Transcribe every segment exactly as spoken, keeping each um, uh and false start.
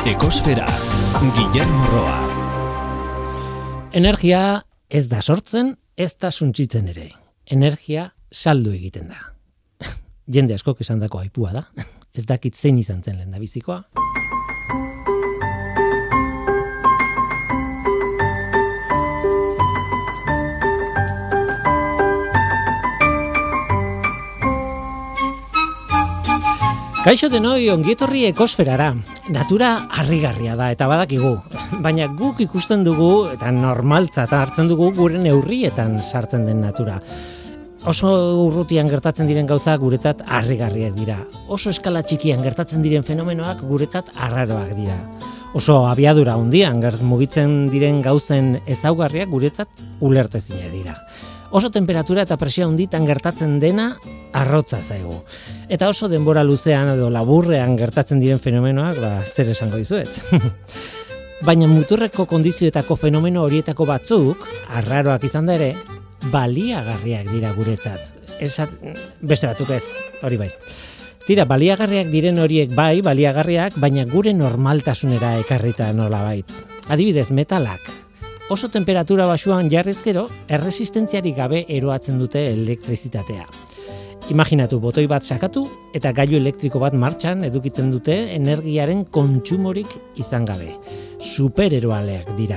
Ekosfera, Guillermo Roa. Energia ez da sortzen, ez da suntsitzen ere. Energia saldu egiten da. Jende askok esandako aipua da. Ez dakit zein izan zen lehendabizikoa. Kaixo denoi, ongietorri ekosferara. Natura harrigarria da eta badakigu. Baina guk ikusten dugu eta normaltzat hartzen dugu gure neurrietan sartzen den natura. Oso urrutian gertatzen diren gauzak guretzat harrigarriak dira. Oso eskala txikian gertatzen diren fenomenoak guretzat arraroak dira. Oso abiadura handian mugitzen diren gauzen ezaugarriak guretzat ulertezinak dira. Oso temperatura eta presio handitan gertatzen dena arrotza zaigu. Eta oso denbora luzean edo laburrean gertatzen diren fenomenoak, ba, zer esango dizuet. Baina muturreko kondizioetako fenomeno horietako batzuk, arraroak izan da ere, baliagarriak dira guretzat. Esat, beste batzuk ez, hori bai. Tira, baliagarriak diren horiek bai, baliagarriak, baina gure normaltasunera ekarrita nolabait. Adibidez, metalak. Oso temperatura basuan jarrezkero, erresistentziarik gabe eroatzen dute elektrizitatea. Imaginatu, botoi bat sakatu eta gailu elektriko bat martxan edukitzen dute energiaren kontsumorik izan gabe. Supereroaleak dira.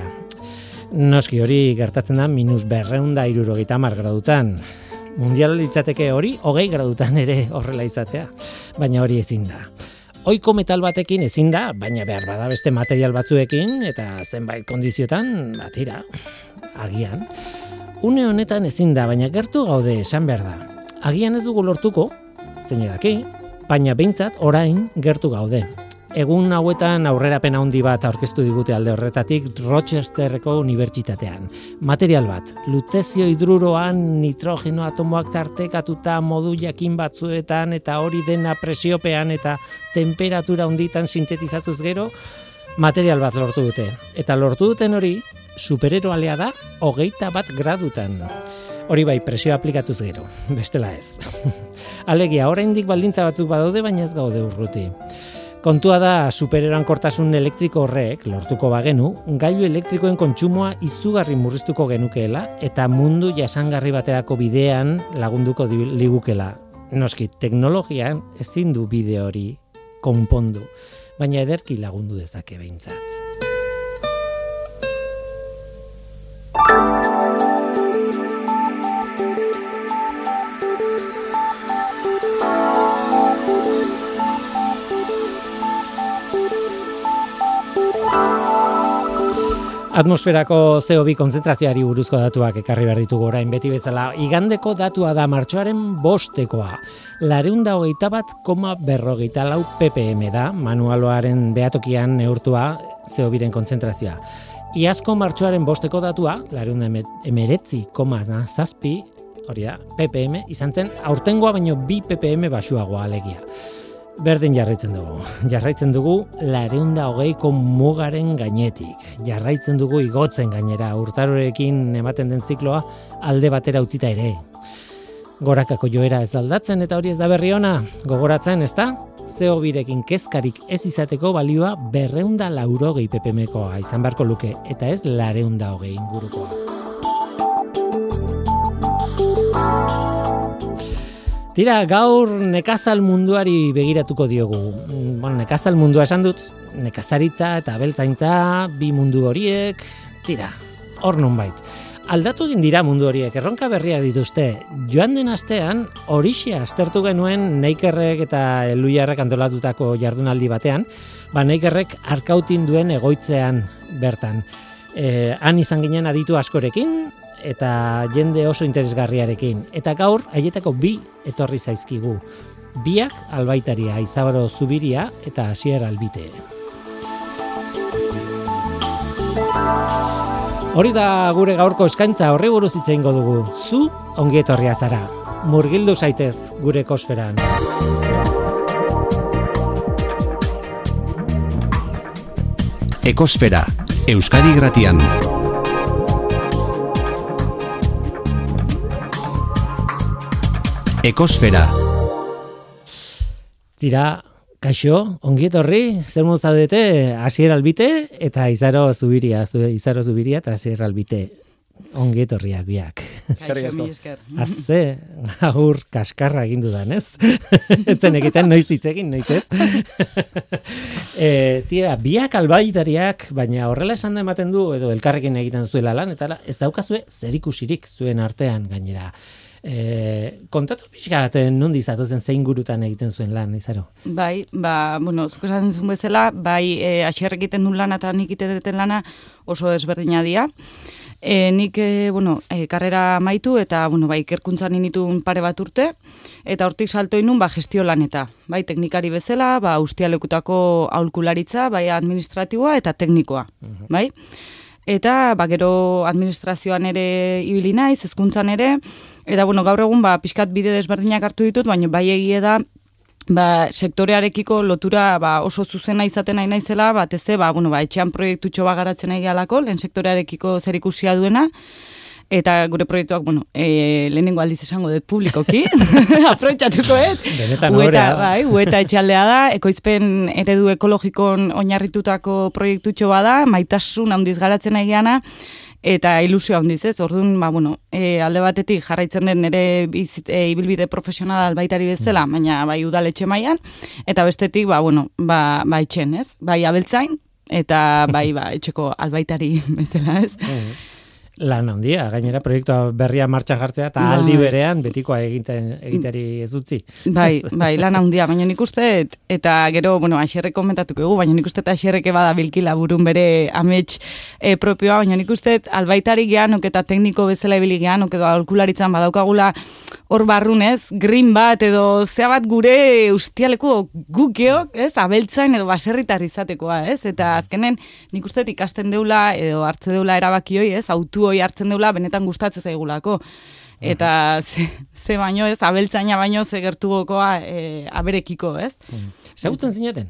Noski hori gertatzen da minus berrehun eta hirurogeita hamar gradutan. Mundial litzateke hori hogei gradutan ere horrela izatea, baina hori ezin da. Ohiko metal batekin ezin da, baina behar bada beste material batzuekin eta zenbait kondiziotan, batira, agian. Une honetan ezin da, baina gertu gaude esan behar da. Agian ez dugu lortuko, zein edaki, baina behintzat orain gertu gaude. Egun hauetan aurrerapen handi bat aurkeztu digute alde horretatik Rochesterreko unibertsitatean. Material bat, lutezio hidruroan nitrogeno atomoak tartekatuta modu jakin batzuetan eta hori dena presiopean eta temperatura handitan sintetizatuz gero, material bat lortu dute. Eta lortu duten hori, supereroalea da hogeita bat gradutan. Hori bai, presio aplikatuz gero, bestela ez. Alegia, oraindik baldintza batzuk badaude, baina ez gaude urruti. Kontua da supererankortasun elektriko horrek, lortuko bagenu, gailu elektrikoen kontsumoa izugarri murriztuko genukeela eta mundu jasangarri baterako bidean lagunduko ligukela. Noski, teknologian ezin du bide hori konpondu, baina ederki lagundu dezake behintzat. Atmosferako C O bi kontzentrazioari buruzko datuak ekarri behar ditugu orain beti bezala. Igandeko datua da martxoaren bostekoa. Lareun da hogeita bat koma berrogeita lau ppm da, manualoaren behatokian neurtua C O biren kontzentrazioa. Iazko martxoaren bosteko datua, lareun da emeretzi koma zazpi, hori da, ppm, izan zen aurtengoa baino bi ppm basuagoa alegia. Berdin jarraitzen dugu. Jarraitzen dugu lareun da hogeiko mugaren gainetik. Jarraitzen dugu igotzen gainera, urtarorekin ematen den zikloa alde batera utzita ere. Gorakako joera ez aldatzen eta hori ez da berri ona. Gogoratzen, ezta? C O birekin kezkarik ez izateko balioa berreun da laurogei ppmkoa izan beharko luke, eta ez lareun da hogei ingurukoa. Tira, gaur nekazal munduari begiratuko diogu. Bueno, nekazal mundua esan dut, nekazaritza eta abeltzaintza, bi mundu horiek, tira, hor nonbait. Aldatu egin dira mundu horiek, erronka berriak dituzte. Joan den astean, horixe aztertu genuen Neikerrek eta Eluiarrek antolatutako jardunaldi batean, ba Neikerrek Arkautin duen egoitzean bertan. E, han izan ginen aditu askorekin, eta jende oso interesgarriarekin. Eta gaur, haietako bi etorri zaizkigu. Biak albaitaria, Izabaro Zubiria eta Asier Albite. Hori da gure gaurko eskaintza, horri buruz hitz egingo dugu. Zu ongi etorria zara. Murgildu zaitez gure ekosferan. Ekosfera, Euskadi Irratian. Ekosfera. Tira, Kaixo, ongi etorri, zer modu zaudete, Asier Albite eta Izaro Zubiria, Izaro Zubiria eta Asier Albite. Ongi etorriak biak. Kaixo, mi esker. Azze, agur kaskarra egin dudan, ez? Etzen egiten, noiz hitz egin, noiz ez? e, tira, biak albaitariak, baina horrela esan da ematen du, edo elkarrekin egiten zuela lan, eta ez daukazue zerikusirik zuen artean gainera. E, kontatu pixkat nondi zatozen zein gurutan egiten zuen lan, Izaro? Bai, ba, bueno, zuk esaten zuen bezala, bai, e, Asier egiten duen lana eta nik egiten lana oso desberdina dira. E, nik, e, bueno, e, karrera amaitu eta, bueno, bai, ikerkuntzan initun pare bat urte, eta hortik salto inun, ba, gestio laneta. Bai, teknikari bezala, ba, ustialekutako aholkularitza, bai, administratiboa eta teknikoa, uh-huh. bai? Eta, ba, gero administrazioan ere ibili naiz, hezkuntzan ere, eta, bueno, gaur egun, ba, pixkat bide desberdinak hartu ditut, baina bai egie da, ba, sektorearekiko lotura ba, oso zuzena izaten nahi naizela, batez ere, ba, bueno, ba, etxean proiektutxo bat garatzen nahi gehalako, lehen sektorearekiko zerikusia duena, eta gure proiektuak, bueno, e, lehenengo aldiz esango dut publikoki, aprobetxatuko ez. Benetan horrea. Bai, ueta etxaldea da, ekoizpen eredu ekologikon oinarritutako proiektutxo bada, maitasun handiz garatzen nahi geana, eta ilusio handiz ez, orduan, ba, bueno, e, alde batetik jarraitzen den nire bizit, e, ibilbide profesional albaitari bezala, baina bai udaletxe mailan, eta bestetik, ba, bueno, ba, ba etxen, ez? Bai abeltzain, eta bai, ba, etxeko albaitari bezala, ez? Lan handia, gainera proiektua berria martxan jartzea eta bai. Aldi berean betikoa egiten egiteri ez utzi. Bai, bai, lan handia, baina nik uste eta gero, bueno, Asierrek komentatuko egu, baina nik uste eta Asierrek bada bilkila burun bere amets e, propioa, baina nik uste albaitari geanok eta tekniko bezala ibili geanok edo aholkularitzan badaukagula hor barrunez, green bat edo zea bat gure ustialeko gukeok, ez, abeltzain edo baserritar izatekoa, ez, eta azkenen nik uste ikasten deula edo hartze deula erabakioi, ez, autu hoi hartzen deula benetan gustatzen zaigulako. Eta ze, ze baino ez, abeltzaina baino ze gertu gokoa e, aberekiko, ez? Zagutzen zineten?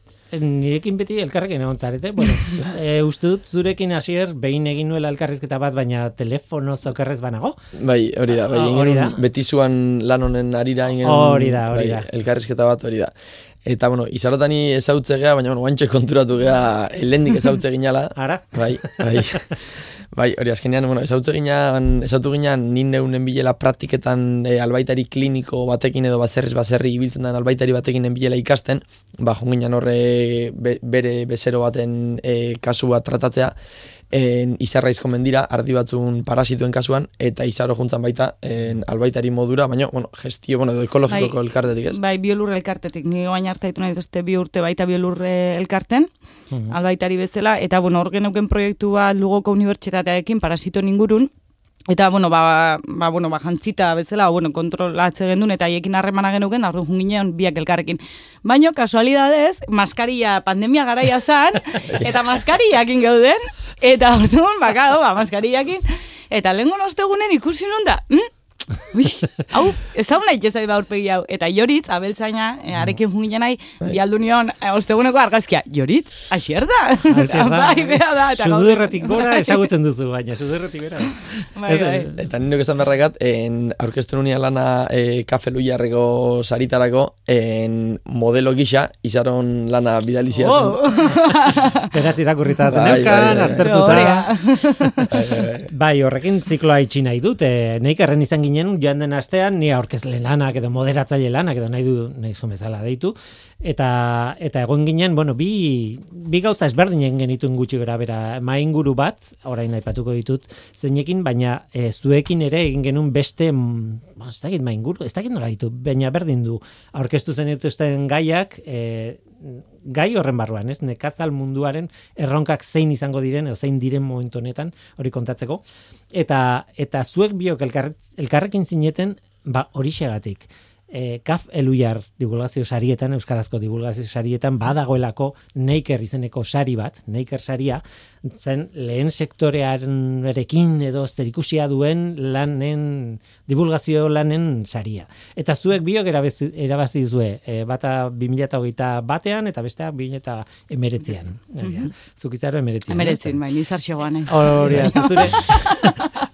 Nirekin beti elkarrekin egon zarete. Bueno, e, uste dut zurekin Asier behin egin nuela elkarrizketa bat, baina telefono zokerrez banago? Bai, hori da. Bai, oh, hori da. Beti zuan lan honen arira ingen hori da, hori da. Bai, elkarrizketa bat hori da. Eta, bueno, izarotani ezautze gea, baina, bueno, guantxe konturatu gea helendik ezautze ginala. Ara? Bai, bai. Bai, hori azkenean, bueno, ezautze ginean, ezautu ginean, nin neunen bilela praktiketan e, albaitari kliniko batekin edo baserriz baserri ibiltzen den albaitari batekin bilela ikasten, ba, jonginan horre be, bere bezero baten e, kasu bat tratatzea, en, izarraizko mendira, ardi batzun parasituen kasuan, eta izaro juntzan baita en, albaitari modura, baina, bueno, gestio, bueno, edo ekologikoko bai, elkartetik ez? Bai, biolur elkartetik, nire baina hartaitu nahi duzte bi urte baita biolur elkarten, uh-huh. albaitari bezala, eta, bueno, hor geneuken proiektu bat Lugoko unibertsitatearekin parasito ingurun, eta, bueno, ba, ba, bueno, ba, jantzita bezala, bueno, kontrolatze gendun, eta haiekin harremana genuken, arru junginean biak elkarrekin. Baina, kasualidadez, maskaria pandemia garaia zan, eta maskariakin geuden, eta orduan, bakado, ba, maskariakin, eta lehenko ostegunen ikusi nun da, hm? Ui, hau, ez hau nahi jezai baurpegi hau. Eta Joritz, abeltzaina, e, arekin junginen nahi, bialdu nion, e, osteguneko argazkia, Joritz, Asier da. Asier da. Bai, bea da. Sudurretik gora esagutzen duzu, baina sudurretik bera. Bai, bai. Eta nindok esan berrakat, aurkeztu nunia lana e, Kafe Luiarreko saritarako, en, modelo gisa, izaron lana bidaliziaten. Oh! Beraz irakurrita zeneukan, aztertuta. Bai, horrekin zikloa itxi nahi dut, e, neik erren izan ginen joan den astean, ni aurkezle lanak edo moderatzaile lanak edo nahi du nahi zuen bezala deitu, eta eta egon ginen, bueno, bi, bi gauza ezberdinen genituen gutxi gara bera, mainguru bat, orain aipatuko ditut zeinekin, baina e, zuekin ere egin genuen beste, ba, ez dakit mainguru, ez dakit nola ditu, baina berdin du, aurkeztu zen dituzten gaiak, e, gai horren barruan, ez? Nekazal munduaren erronkak zein izango diren, edo zein diren momentu honetan, hori kontatzeko. Eta, eta zuek biok elkar, elkarrekin zineten, ba, hori xegatik. E, Kaf Eluiar divulgazio sarietan, euskarazko divulgazio sarietan, badagoelako Neiker izeneko sari bat, Neiker saria, zen lehen sektorearekin edo zerikusia duen lanen, divulgazio lanen saria. Eta zuek biok erabazi, erabazi duzue, e, bata bi mila hogeita batean eta bestea bi mila hemeretzian. Mm-hmm. Zuk izaro hemeretzian. Hemeretzin, bai, nizar xegoan. Hori da, zure...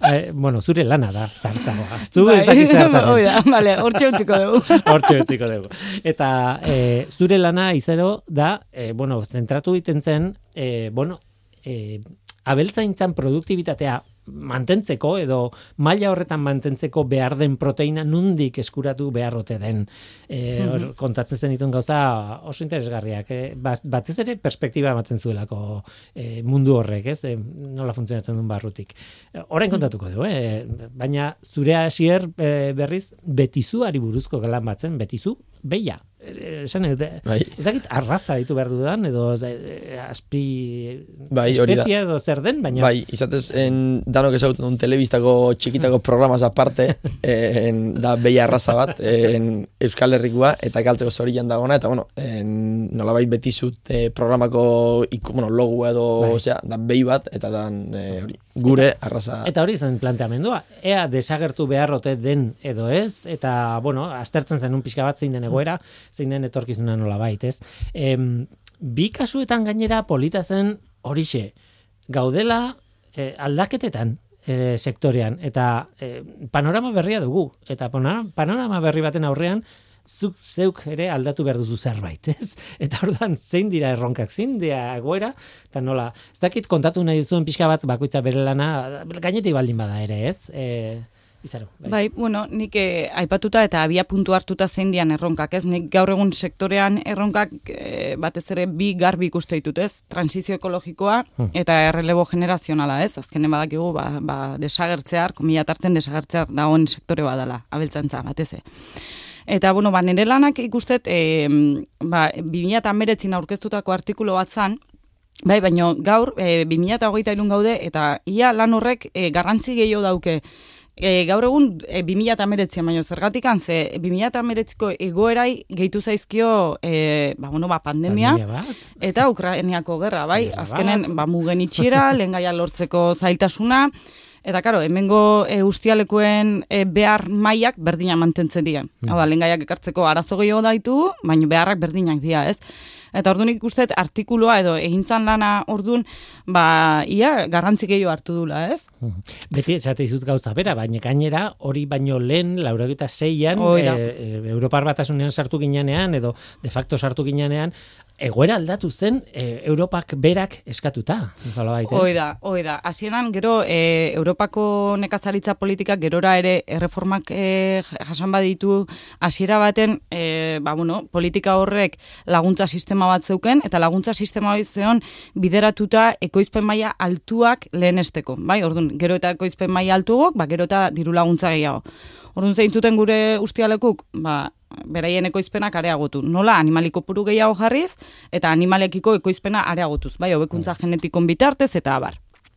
eh, bueno, zure lana da, zartzagoa. Zu ez dakiz zertan. Hoi da, bale, hortxe utziko dugu. Hortxe utziko dugu. Eta eh, zure lana izero da, eh, bueno, zentratu egiten zen, eh, bueno, eh, abeltzaintzan produktibitatea mantentzeko edo maila horretan mantentzeko behar den proteina nundik eskuratu beharrote den. E, hor, kontatzen zen dituen gauza oso interesgarriak. E, batez ere perspektiba ematen zuelako e, mundu horrek, ez? E, nola funtzionatzen duen barrutik. Orain kontatuko dugu, eh? Baina zure hasier e, berriz betizuari buruzko lan batzen, betizu, beia. Esan, ez dakit arraza ditu behar dudan, edo e, azpi bai, espezia edo zer den, baina... Bai, izatez, en, danok ezagutzen duen telebistako txikitako programaz aparte, en, da beia arraza bat, en, Euskal Herrikoa, eta galtzeko zorian dagona, eta bueno, en, nolabait betizut eh, programako iku, bueno, logo edo, bai. Osea, da behi bat, eta dan eh, hori, gure eta, arraza. Eta hori zen planteamendua, ea desagertu beharrote den edo ez, eta, bueno, aztertzen zen un pixka bat zein den egoera, zein den etorkizuna nola bait, ez? Em, bi kasuetan gainera polita zen horixe, gaudela eh, aldaketetan eh, sektorean, eta eh, panorama berria dugu, eta panorama berri baten aurrean, zuk zeuk ere aldatu behar duzu zerbait, ez? Eta orduan zein dira erronkak, zein dira egoera, eta nola, ez dakit kontatu nahi duzuen pixka bat bakoitza bere lana, gainetik baldin bada ere, ez? E, Izaro, bai. bai, bueno, nik eh, aipatuta eta abia puntu hartuta zein dian erronkak, ez? Nik gaur egun sektorean erronkak eh, batez ere bi garbi ikuste ditut, ez? Transizio ekologikoa eta errelebo generazionala, ez? Azkenen badakigu, ba, ba desagertzear, komila tarten desagertzear dagoen sektore badala, abeltzantza, batez ere. Eta, bueno, ba, nire lanak ikustet, e, ba, bi mila hemeretzin aurkeztutako artikulu bat zan, bai, baina gaur, e, bi mila hogeita hiru gaude, eta ia lan horrek e, garrantzi gehiago dauke. E, gaur egun, e, bi mila hemeretzian, baina zergatik ze bi mila hemeretziko egoerai gehitu zaizkio, e, ba, bueno, ba, pandemia, pandemia eta Ukrainiako gerra, bai, azkenen, ba, mugen itxiera, lehengaia lortzeko zailtasuna, eta, karo, hemengo e, ustialekoen e, behar mailak berdina mantentzen dira. Mm. Hau da, lehengaiak ekartzeko arazo gehiago daitu, baina beharrak berdinak dira, ez? Eta orduan ikustet artikulua edo egintzan lana orduan, ba, ia, garrantzi gehiago hartu dula, ez? Beti esate izut gauza bera, baina gainera hori baino lehen, laurogeita seian, e, e, Europar Batasunean sartu ginean, edo de facto sartu ginean, egoera aldatu zen e, Europak berak eskatuta. Hoi da, hoi da. Hasieran gero e, Europako nekazaritza politikak gerora ere erreformak e, jasan baditu hasiera baten e, ba, bueno, politika horrek laguntza sistema bat zeuken, eta laguntza sistema hori zeon bideratuta ekoizpen maila altuak lehenesteko. Bai, orduan, gero eta ekoizpen maila altuak, ba, gero eta diru laguntza gehiago. Orduan zeintzuten gure ustialekuk, ba, beraien ekoizpenak areagotu. Nola, animaliko puru gehiago jarriz, eta animalekiko ekoizpena areagotuz. Bai, hobekuntza genetikon bitartez, eta abar.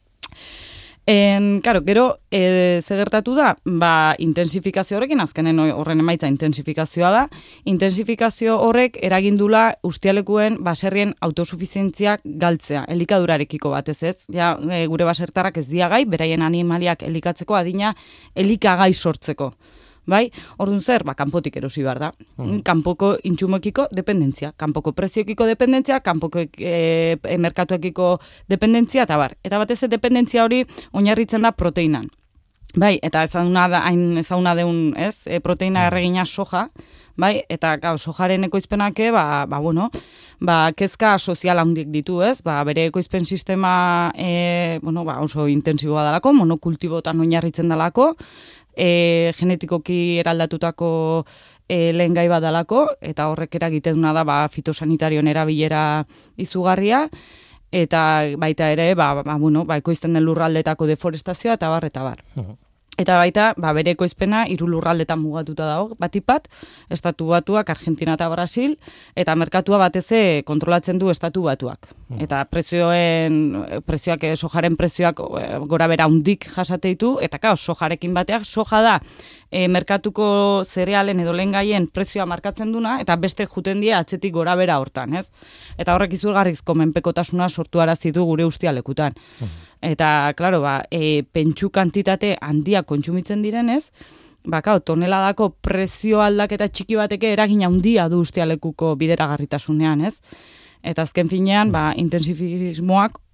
En, karo, gero, e, zegertatu da, ba, intensifikazio horrekin, azkenen horren emaitza intensifikazioa da, intensifikazio horrek eragindula ustialekuen baserrien autosufizientziak galtzea, elikadurarekiko batez ez. Ja, e, gure basertarrak ez diagai, beraien animaliak elikatzeko adina elikagai sortzeko. Bai, orduan zer, ba, kanpotik erosi behar da. Mm. Kanpoko intxumekiko dependentzia, kanpoko preziokiko dependentzia, kanpoko e, e, merkatuekiko dependentzia, eta bar. Eta batez dependentzia hori oinarritzen da proteinan. Bai, eta ezaguna da, hain ezaguna deun, ez, e, proteina erregina soja, bai, eta gau, sojaren ekoizpenake, ba, ba, bueno, ba, kezka sozial handik ditu, ez, ba, bere ekoizpen sistema, e, bueno, ba, oso intensiboa dalako, monokultibotan oinarritzen dalako, E, genetikoki eraldatutako e, lehen gai badalako, eta horrek eragiteduna da ba, fitosanitarioen erabilera izugarria, eta baita ere, ba, ba, bueno, ba, ekoizten den lurraldetako deforestazioa, eta bar, eta bar. Uh-huh. Eta baita, ba, bere ekoizpena hiru lurraldetan mugatuta dago, batipat, Estatu Batuak, Argentina eta Brasil, eta merkatua bateze kontrolatzen du Estatu Batuak. Mm. Eta prezioen, prezioak, sojaren prezioak gora bera hundik jasate ditu, eta kao, sojarekin bateak, soja da, e, merkatuko zerealen edo lehengaien prezioa markatzen duna, eta beste juten die atzetik gora bera hortan, ez? Eta horrek izugarrizko menpekotasuna sortu arazi du gure ustialekutan. Mm. Eta, klaro, ba, e, pentsu kantitate handia kontsumitzen direnez, ba, kao, toneladako prezio aldaketa txiki bateke eragina handia du ustialekuko bideragarritasunean, ez? Eta azken finean, ba, intensifismoak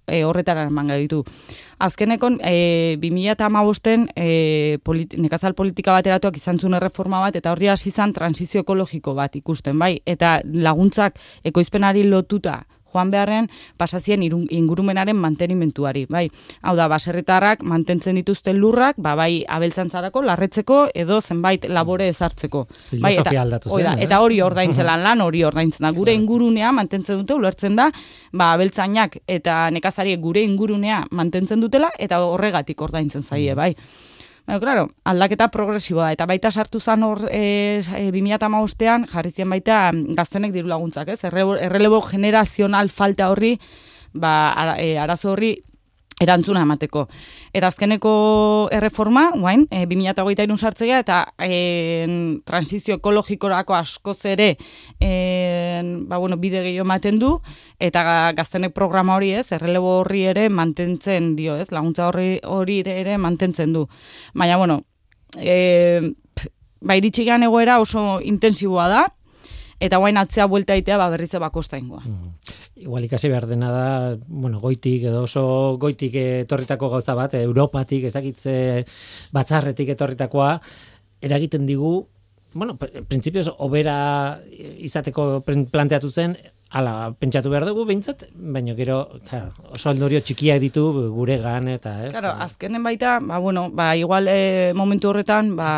e, horretara eman ditu. Azkenekon, e, bi mila hamabosten e, politi- nekazal politika bateratuak izan zuen erreforma bat, eta horri hasi izan transizio ekologiko bat ikusten, bai? Eta laguntzak ekoizpenari lotuta joan beharren pasazien ingurumenaren mantenimentuari, bai. Hau da, baserritarrak mantentzen dituzten lurrak, ba, bai abeltzantzarako, larretzeko, edo zenbait labore ezartzeko. Bai, eta, aldatu zen, eta hori ordaintzelan lan, hori ordaintzen da. Gure ingurunea mantentzen dute, ulertzen da, ba, abeltzainak eta nekazariek gure ingurunea mantentzen dutela, eta horregatik ordaintzen zaie, bai. Baina, claro, aldaketa progresiboa da, eta baita sartu zan hor e, e, bi mila hamabostean jarri ziren baita gaztenek diru laguntzak, ez? Errelebo generazional falta horri, ba, ara, e, arazo horri erantzuna emateko. Eta azkeneko erreforma, guain, e, bi mila hogeita hiru sartzea, eta e, transizio ekologikorako askoz ere e, ba, bueno, bide gehiago ematen du, eta gaztenek programa hori ez, errelebo horri ere mantentzen dio, ez, laguntza horri hori ere mantentzen du. Baina, bueno, e, ba, iritsi gehan egoera oso intensiboa da, eta guain atzea buelta itea ba, berriz bakosta ingoa. Mm. Igual ikasi behar dena da, bueno, goitik edo oso goitik etorritako gauza bat, Europatik, ezakitze batzarretik etorritakoa, eragiten digu, bueno, printzipioz, obera izateko planteatu zen, hala, pentsatu behar dugu behintzat, baina gero, claro, oso ondorio txikiak ditu guregan eta, ez? Claro, azkenen baita, ba, bueno, ba, igual eh, momentu horretan, ba,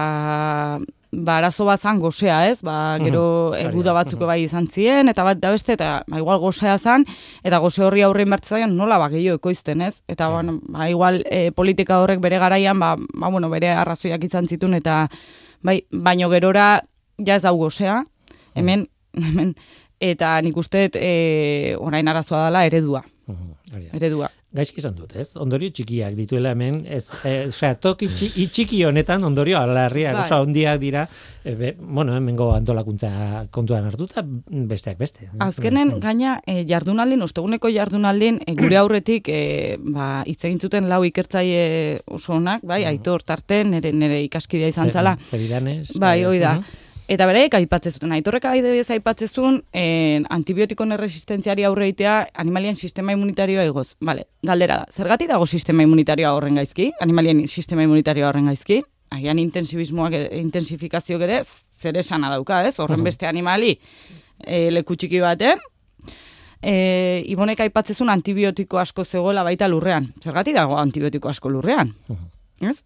ba, arazo bat zan gozea, ez? Ba, gero uh-huh. eguda batzuk uh-huh. bai izan ziren, eta bat da beste, eta ba, igual gozea zan, eta goze horri aurrein bertzaion nola ba, gehiago ekoizten, ez? Eta, sí. bueno, ba, igual e, politika horrek bere garaian, ba, ba, bueno, bere arrazoiak izan zituen, eta, bai, baino gerora, ja ez hau gozea, hemen, uh-huh. hemen, eta nik uste e, orain arazoa dela eredua. Uh-huh. Eredua. Gaizki izan dut, ez? Ondorio txikiak dituela hemen, ez, e, osea, toki txiki, txiki honetan ondorio alarriak, oso handiak dira, e, be, bueno, hemengo antolakuntza kontuan hartuta, besteak beste. Azkenen, gaina, e, jardunaldin, osteguneko jardunaldin, e, gure aurretik, e, ba, hitz egin zuten lau ikertzaile oso onak, bai, Aitor Tarte, nere, nere ikaskidea izan zala. Zeridanez. Bai, hoi da. Uh-huh. Eta bereik aipatzen zuten, Aitorrek adibidez aipatzen zuen eh, antibiotikoen erresistentziari aurre egitea animalien sistema immunitarioa igoz. Vale, galdera da, zergatik dago sistema immunitarioa horren gaizki? Animalien sistema immunitarioa horren gaizki? Agian intensibismoak, intensifikazio ere zer esana dauka, ez? Horren beste animali eh, leku txiki baten, eh, Ibonek aipatzen zuen antibiotiko asko zegoela baita lurrean. Zergatik dago antibiotiko asko lurrean? Ez?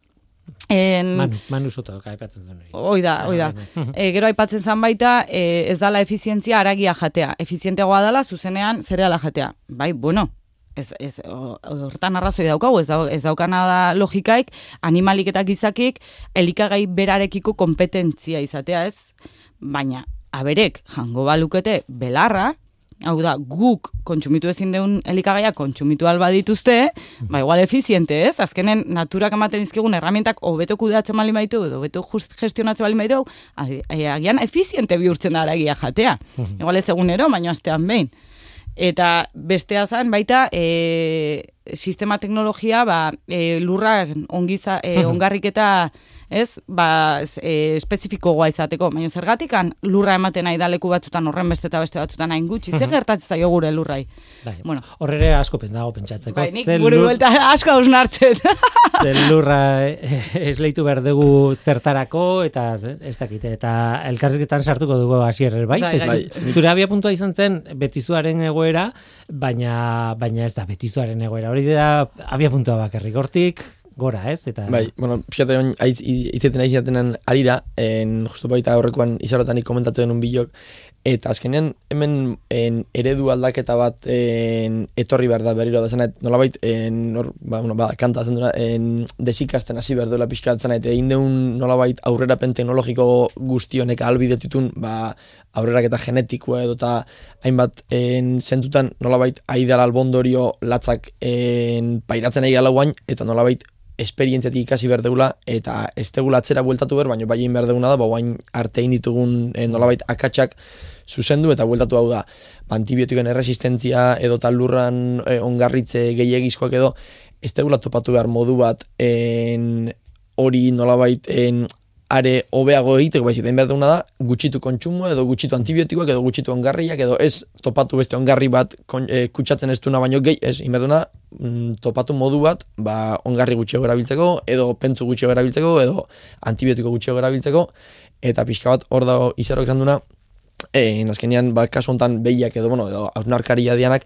En, Manu, Manu Soto aipatzen zen hori. Hoi da, hoi da. E, gero aipatzen zen baita, e, ez dala efizientzia aragia jatea. Efizienteagoa dela, zuzenean zereala jatea. Bai, bueno, ez, ez, hortan arrazoi daukagu, ez, dau, ez daukana da logikaik, animalik eta gizakik, elikagai berarekiko kompetentzia izatea, ez? Baina, aberek, jango balukete belarra, hau da, guk kontsumitu ezin deun elikagaia kontsumitu alba dituzte, ba igual efiziente, ez? Azkenen naturak ematen dizkigun herramientak hobeto kudeatzen bali baditu, edo hobeto gestionatzen bali baditu, agian efiziente bihurtzen da aragia jatea. Igual ez egunero, baina astean behin. Eta bestea zen baita e, sistema teknologia ba, e, lurra ongiza, e, ongarriketa ez, ba, e, espezifikoa izateko. Baina zergatikan lurra ematen nahi da leku batzutan horren beste eta beste batzutan hain gutxi. Zer gertatzen zaio gure lurrai? Bai, bueno. Horrere asko pendago pentsatzeko. Bai, nik buru buelta asko hausnartzen. Zer lurra esleitu behar dugu zertarako eta ez dakite. Eta elkarrizketan sartuko dugu hasierer bai. Bai, bai. Zure abia puntua izan zen betizuaren egoera, baina, baina ez da betizuaren egoera. Hori da abia puntua bakarrik. Hortik gora, ez? Eta... Bai, bueno, pixkate hon, itzeten aiz izatenan arira, en, justu baita horrekoan izarotanik komentatu denun bilok, eta azkenean hemen en, eredu aldaketa bat en, etorri behar da berriro da zenet, nolabait, en, or, ba, bueno, ba, kanta zen duna, desikasten hasi behar duela pixkatzen, eta egin deun nolabait aurrerapen teknologiko guztionek ahalbidetutun, ba, aurrerak eta genetikoa edo eta hainbat en, zentutan nolabait aidala albondorio latzak en, pairatzen ari gala guain, eta nolabait esperientziatik ikasi behar degula, eta ez degula atzera bueltatu behar, baina bai egin behar deguna da, ba, guain arte egin ditugun eh, nolabait akatsak zuzendu eta bueltatu hau da. Ba, antibiotikoen erresistentzia edo tal lurran eh, ongarritze gehiagizkoak edo, ez degula topatu behar modu bat en, hori nolabait en, are hobeago egiteko, baizik, den behar duguna da, gutxitu kontsumo, edo gutxitu antibiotikoak, edo gutxitu ongarriak, edo ez topatu beste ongarri bat kon, e, kutsatzen ez duna baino gehi, ez, inberduna, mm, topatu modu bat, ba, ongarri gutxiago erabiltzeko, edo pentsu gutxiago erabiltzeko, edo antibiotiko gutxiago erabiltzeko, eta pixka bat hor dago izarok esan duna, e, azkenean, ba, kasu honetan behiak edo, bueno, edo hausnarkaria dianak,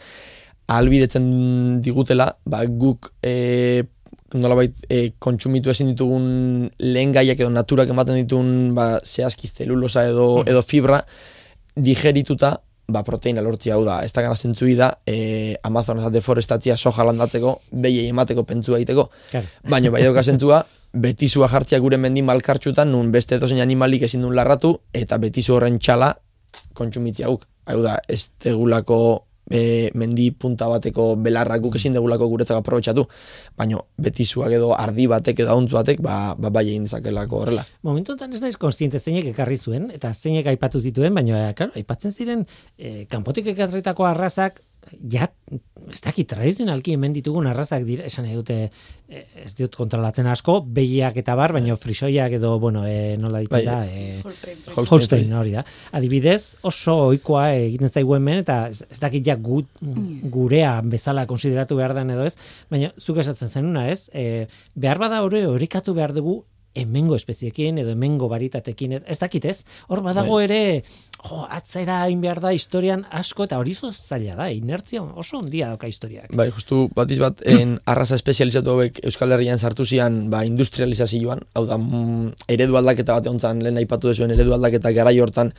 ahalbidetzen digutela, ba, guk e, nolabait e, kontsumitu ezin ditugun lehen gaiak edo naturak ematen ditugun ba, zehazki zelulosa edo, mm. edo fibra digerituta ba, proteina lortzia hau da. Ez da gara zentzui da e, Amazonas deforestatzia soja landatzeko, behiei emateko pentsua egiteko. Claro. Baina bai dauka zentzua, betizua jartzia gure mendi malkartxutan, nun beste edozein animalik ezin duen larratu, eta betizu horren txala kontsumitzia guk. Hau da, ez tegulako E, mendi punta bateko belarrak guk ezin degulako guretzak aprobetxatu, baina betizuak edo ardi batek edo hauntzu batek ba, ba bai egin dezakelako horrela. Momentu honetan ez naiz kontziente zeinek ekarri zuen, eta zeinek aipatu zituen, baina claro, aipatzen ziren e, kanpotik ekarritako arrazak, ja, ez dakit, tradizionalki hemen ditugun arrazak dira, esan nahi dute, e, ez dut kontrolatzen asko, behiak eta bar, baina frisoiak edo, bueno, e, nola ditu da, e, Holstein, Holstein hori da. Adibidez, oso ohikoa egiten zaigu hemen, eta ez, ez dakit ja gu, gurea bezala konsideratu behar den edo ez, baina zuk esatzen zenuna ez, e, behar bada hori horikatu behar dugu hemengo espeziekin edo hemengo baritatekin, ez dakit ez, hor badago ere, jo, atzera hain behar da historian asko, eta hori zaila da, inertzia oso ondia dauka historiak. Bai, justu batiz bat, en arraza espezializatu hauek Euskal Herrian sartu zian, ba, industrializazioan, hau da, mm, eredu aldaketa bat egontzan, lehen aipatu dezuen eredu aldaketa garai hortan,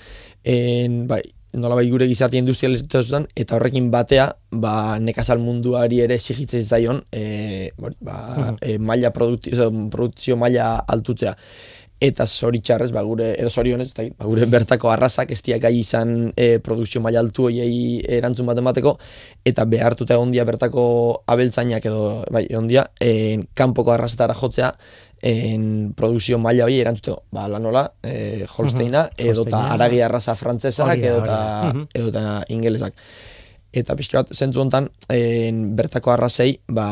en, bai, nolabait gure gizartia industrializatuan, eta horrekin batea, ba, nekazal munduari ere exigitzen zaion, e, ba, e, maila produkzio, produkzio maila altutzea. Eta zoritxarrez, ba, gure, edo zorionez, ba, gure bertako arrazak ez diak gai izan e, produkzio maila altu hoiei erantzun bat emateko, eta behartuta egon dia bertako abeltzainak edo, bai, egon dia, e, kanpoko arrazetara jotzea, en produkzio maila hori erantzuteko, ba, lanola, e, Holsteina, uh-huh. edo eta aragi arraza frantzesak, edo eta ingelesak. Eta pixka bat, zentzu honetan, bertako arrazei,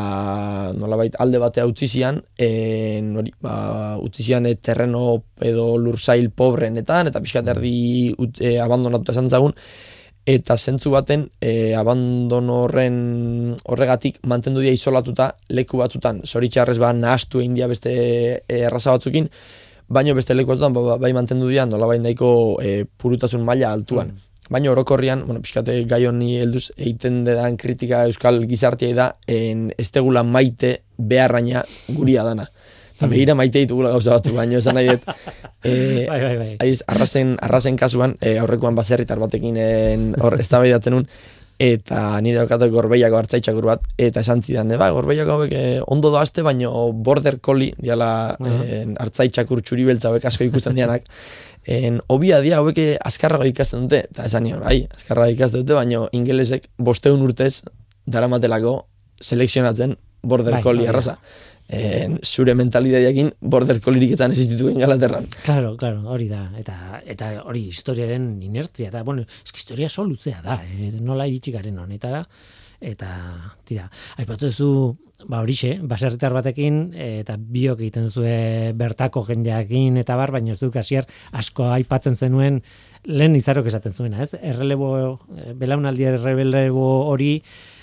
ba, nolabait alde batea utzi zian, en, hori, ba, utzi zian e, terreno edo lursail pobreenetan, eta pixka bat erdi e, abandonatuta esan zagun, eta zentzu baten e, abandono horren horregatik mantendu dira isolatuta leku batzutan, zoritxarrez ba nahastu egin dira beste e, erraza batzukin, baino beste leku batzutan ba, bai mantendu dira nolabait nahiko e, purutasun maila altuan. Mm. Baina orokorrian, bueno, pixkate gai honi helduz egiten dedan kritika euskal gizartiai da, en, ez tegula maite beharraina guria dana. Eta behira maite ditugula gauza batzu, baina esan nahi dut. E, bai, bai, bai. Aiz, arrazen, arrazen kasuan, e, aurrekoan baserritar batekin hor eztabaidatzen nun, eta nire daukat gorbeiako hartzaitxakur bat, eta esan zidan, e, ba, gorbeiako hauek e, ondo doazte, baina border collie, diala uh-huh. hartzaitxakur txuri beltza hauek asko ikusten dianak, en, obia dia hauek azkarrago ikasten dute, eta esan nion, bai, azkarrago ikasten dute, baina ingelesek bosteun urtez daramatelako selekzionatzen border bai, collie arraza. En, zure mentalidadeakin border collieetan existituen Ingalaterran. Claro, claro, hori da. Eta eta hori historiaren inertzia da. Bueno, eski historia oso luzea da, eh? Nola iritsi garen honetara. Eta, tira, aipatu duzu, ba horixe, baserritar batekin, eta biok egiten zue bertako jendeakin eta bar, baina ez duk hasier asko aipatzen zenuen lehen izarok esaten zuena, ez? Errelebo, belaunaldi errelebo hori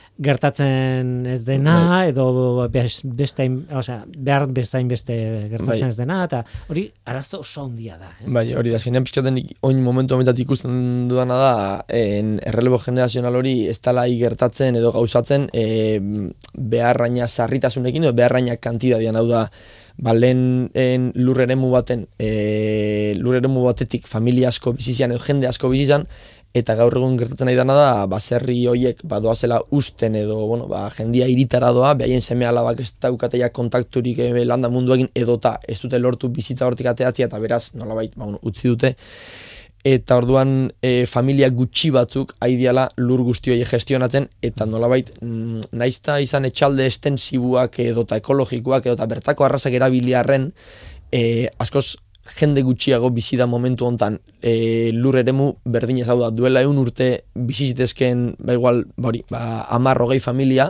gertatzen ez dena, edo bestein, osea, behar bestain beste gertatzen bai. Ez dena, eta hori arazo oso handia da. Ez? Bai, hori da, azkenean pixkaten oin momentu honetat ikusten dudana da, en errelebo generazional hori ez dela gertatzen edo gauzatzen e, beharraina sarritasunekin, edo beharraina kantidadian, hau da, ba, lehen lur eremu baten, e, lur eremu batetik familia asko bizizian edo jende asko bizizan, eta gaur egun gertatzen nahi dana da, baserri horiek ba, doazela usten edo, bueno, ba, jendia iritara doa, behaien seme alabak ez daukateia kontakturik e, landa munduekin edota ez dute lortu bizitza hortik ateatzia, eta beraz, nolabait, ba, bueno, utzi dute. Eta orduan e, familia gutxi batzuk aidiala lur guzti hori gestionatzen, eta nolabait, mm, naizta izan etxalde estensibuak edota ekologikoak edota bertako arrazak erabiliarren, e, askoz jende gutxiago bizi da momentu hontan e, lur eremu berdinez, hau da, duela eun urte bizi zitezken, ba igual, bori, ba, hamar hogei familia, mm.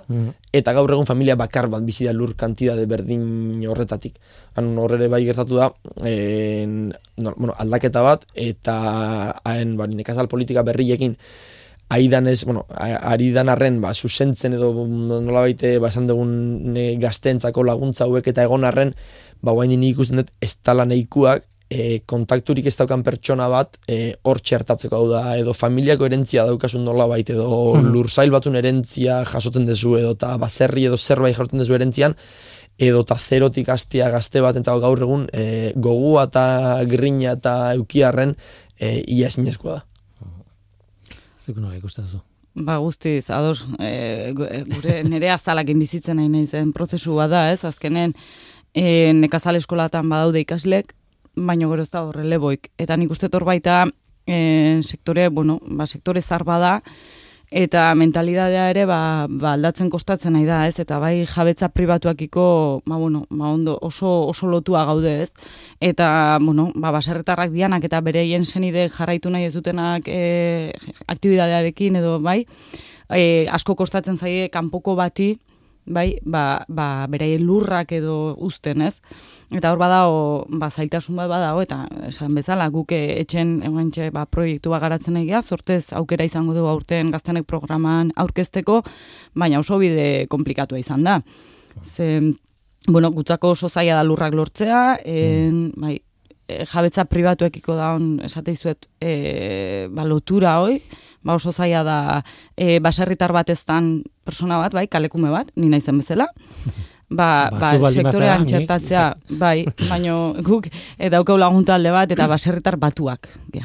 eta gaur egun familia bakar bat bizi da lur kantidade berdin horretatik. Horre bai gertatu da, en, no, bueno, aldaketa bat, eta haen ba, nekazal politika berriekin aidan ez, bueno, ari dan arren, ba, zuzentzen edo nola baite, ba, esan dugun gazteentzako laguntza hauek eta egon arren, ba, guain nik ikusten dut, ez tala nahikoak, E, kontakturik ez daukan pertsona bat e, hor txertatzeko hau da, edo familiako erentzia daukasun nola baita, edo hmm. lurzail batun erentzia jasoten dezu, edo ta baserri edo zerbait jasoten dezu erentzian, edo ta zerotik hastea gazte bat entzako gaur egun e, gogua eta grina eta eukiarren e, ia ezinezkoa da. Zuk nola ikusten zu? Ba, guztiz, ados, e, gure nire azalakin bizitzen nahi nahi zen prozesu bat da, ez? Azkenen e, nekazal eskolatan badaude ikaslek, baina gero ez da horre leboik. Eta nik uste tor baita e, sektore, bueno, ba, sektore zarba da, eta mentalidadea ere ba, ba aldatzen kostatzen nahi da, ez? Eta bai jabetza pribatuakiko, ba, bueno, ba, ondo, oso, oso lotua gaude, ez? Eta, bueno, ba, baserritarrak dianak eta bereien senide jarraitu nahi ez dutenak e, aktibidadearekin edo, bai, e, asko kostatzen zaie kanpoko bati, bai, ba, ba, beraien lurrak edo uzten, ez? Eta hor badao, ba, zailtasun bat badao, eta esan bezala, guk etxen egentxe, ba, proiektu bat garatzen egia, sortez aukera izango du aurten Gaztenek programan aurkezteko, baina oso bide komplikatua izan da. Ze, bueno, gutzako oso zaila da lurrak lortzea, en, bai, jabetza pribatuekiko da on, esateizuet, e, ba, lotura hoi, ba, oso zaila da e, baserritar bat eztan persona bat, bai, kalekume bat, ni naizen bezala, ba, ba, ba sektorean txertatzea, bai, baino guk e, daukau lagunta alde bat, eta baserritar batuak, ja.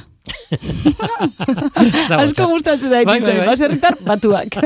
Asko gustatzen da ekin, bai, bai. Baserritar batuak.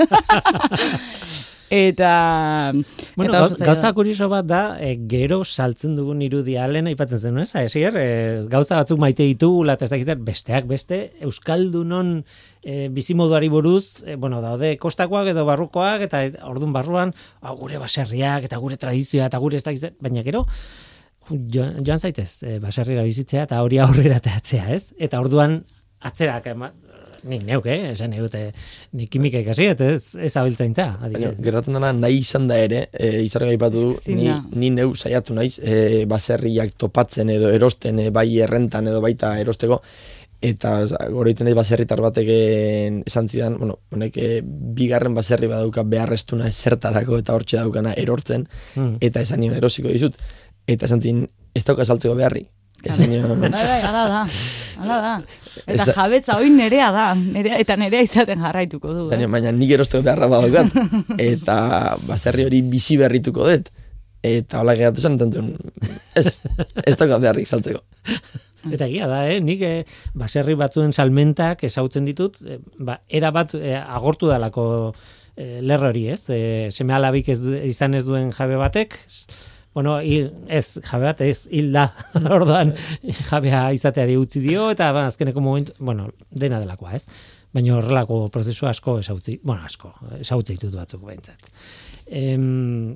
Eta... Bueno, eta gauza, gauza kurioso bat da, e, gero saltzen dugun irudia lehen aipatzen zen, ez? Esier, e, gauza batzuk maite ditugula, eta ez dakit, besteak beste, Euskaldunon e, bizimoduari buruz, e, bueno, daude kostakoak edo barrukoak, eta ordun barruan, a, gure baserriak, eta gure tradizioa, eta gure ez dakit, baina gero, joan, joan zaitez, e, baserrira bizitzea, eta hori aurrera teatzea, ez? Eta orduan, atzerak, ema, nik neuk, eh? Esan neute, nik kimika ikasi, eta ez, ez abiltzaintza. Gertatzen dena, nahi izan da ere, e, izarra gaipatu du, ni, ni neu saiatu naiz, e, baserriak topatzen edo erosten, e, bai errentan edo baita erosteko, eta goroiten naiz baserritar bateken esan zidan, bueno, honek e, bigarren baserri badauka beharreztuna ezertarako eta hortxe daukana erortzen, mm. eta esan nion erosiko dizut, eta esan zin, ez dauka saltzeko beharri. Bai, bai, ala da, ala da. Eta Eza... jabetza hori nerea da, nerea, eta nerea izaten jarraituko du. Eh? Baina nik erosteko beharra badaukat, eta baserri hori bizi berrituko dut. Eta hola geratu zen, entzun, ez, ez daukat beharrik saltzeko. Eta egia da, eh? Nik eh, baserri batzuen salmentak esautzen ditut, eh, ba, era bat eh, agortu dalako eh, lerro hori, ez? Eh, seme alabik ez, izan ez duen jabe batek, bueno, hil, ez, jabe bat, ez, hil da, orduan, jabea izateari utzi dio, eta ba, azkeneko momentu, bueno, dena delakoa, ez? Baina horrelako prozesu asko esautzi, bueno, asko, esautzi ditut batzuk behintzat. Em,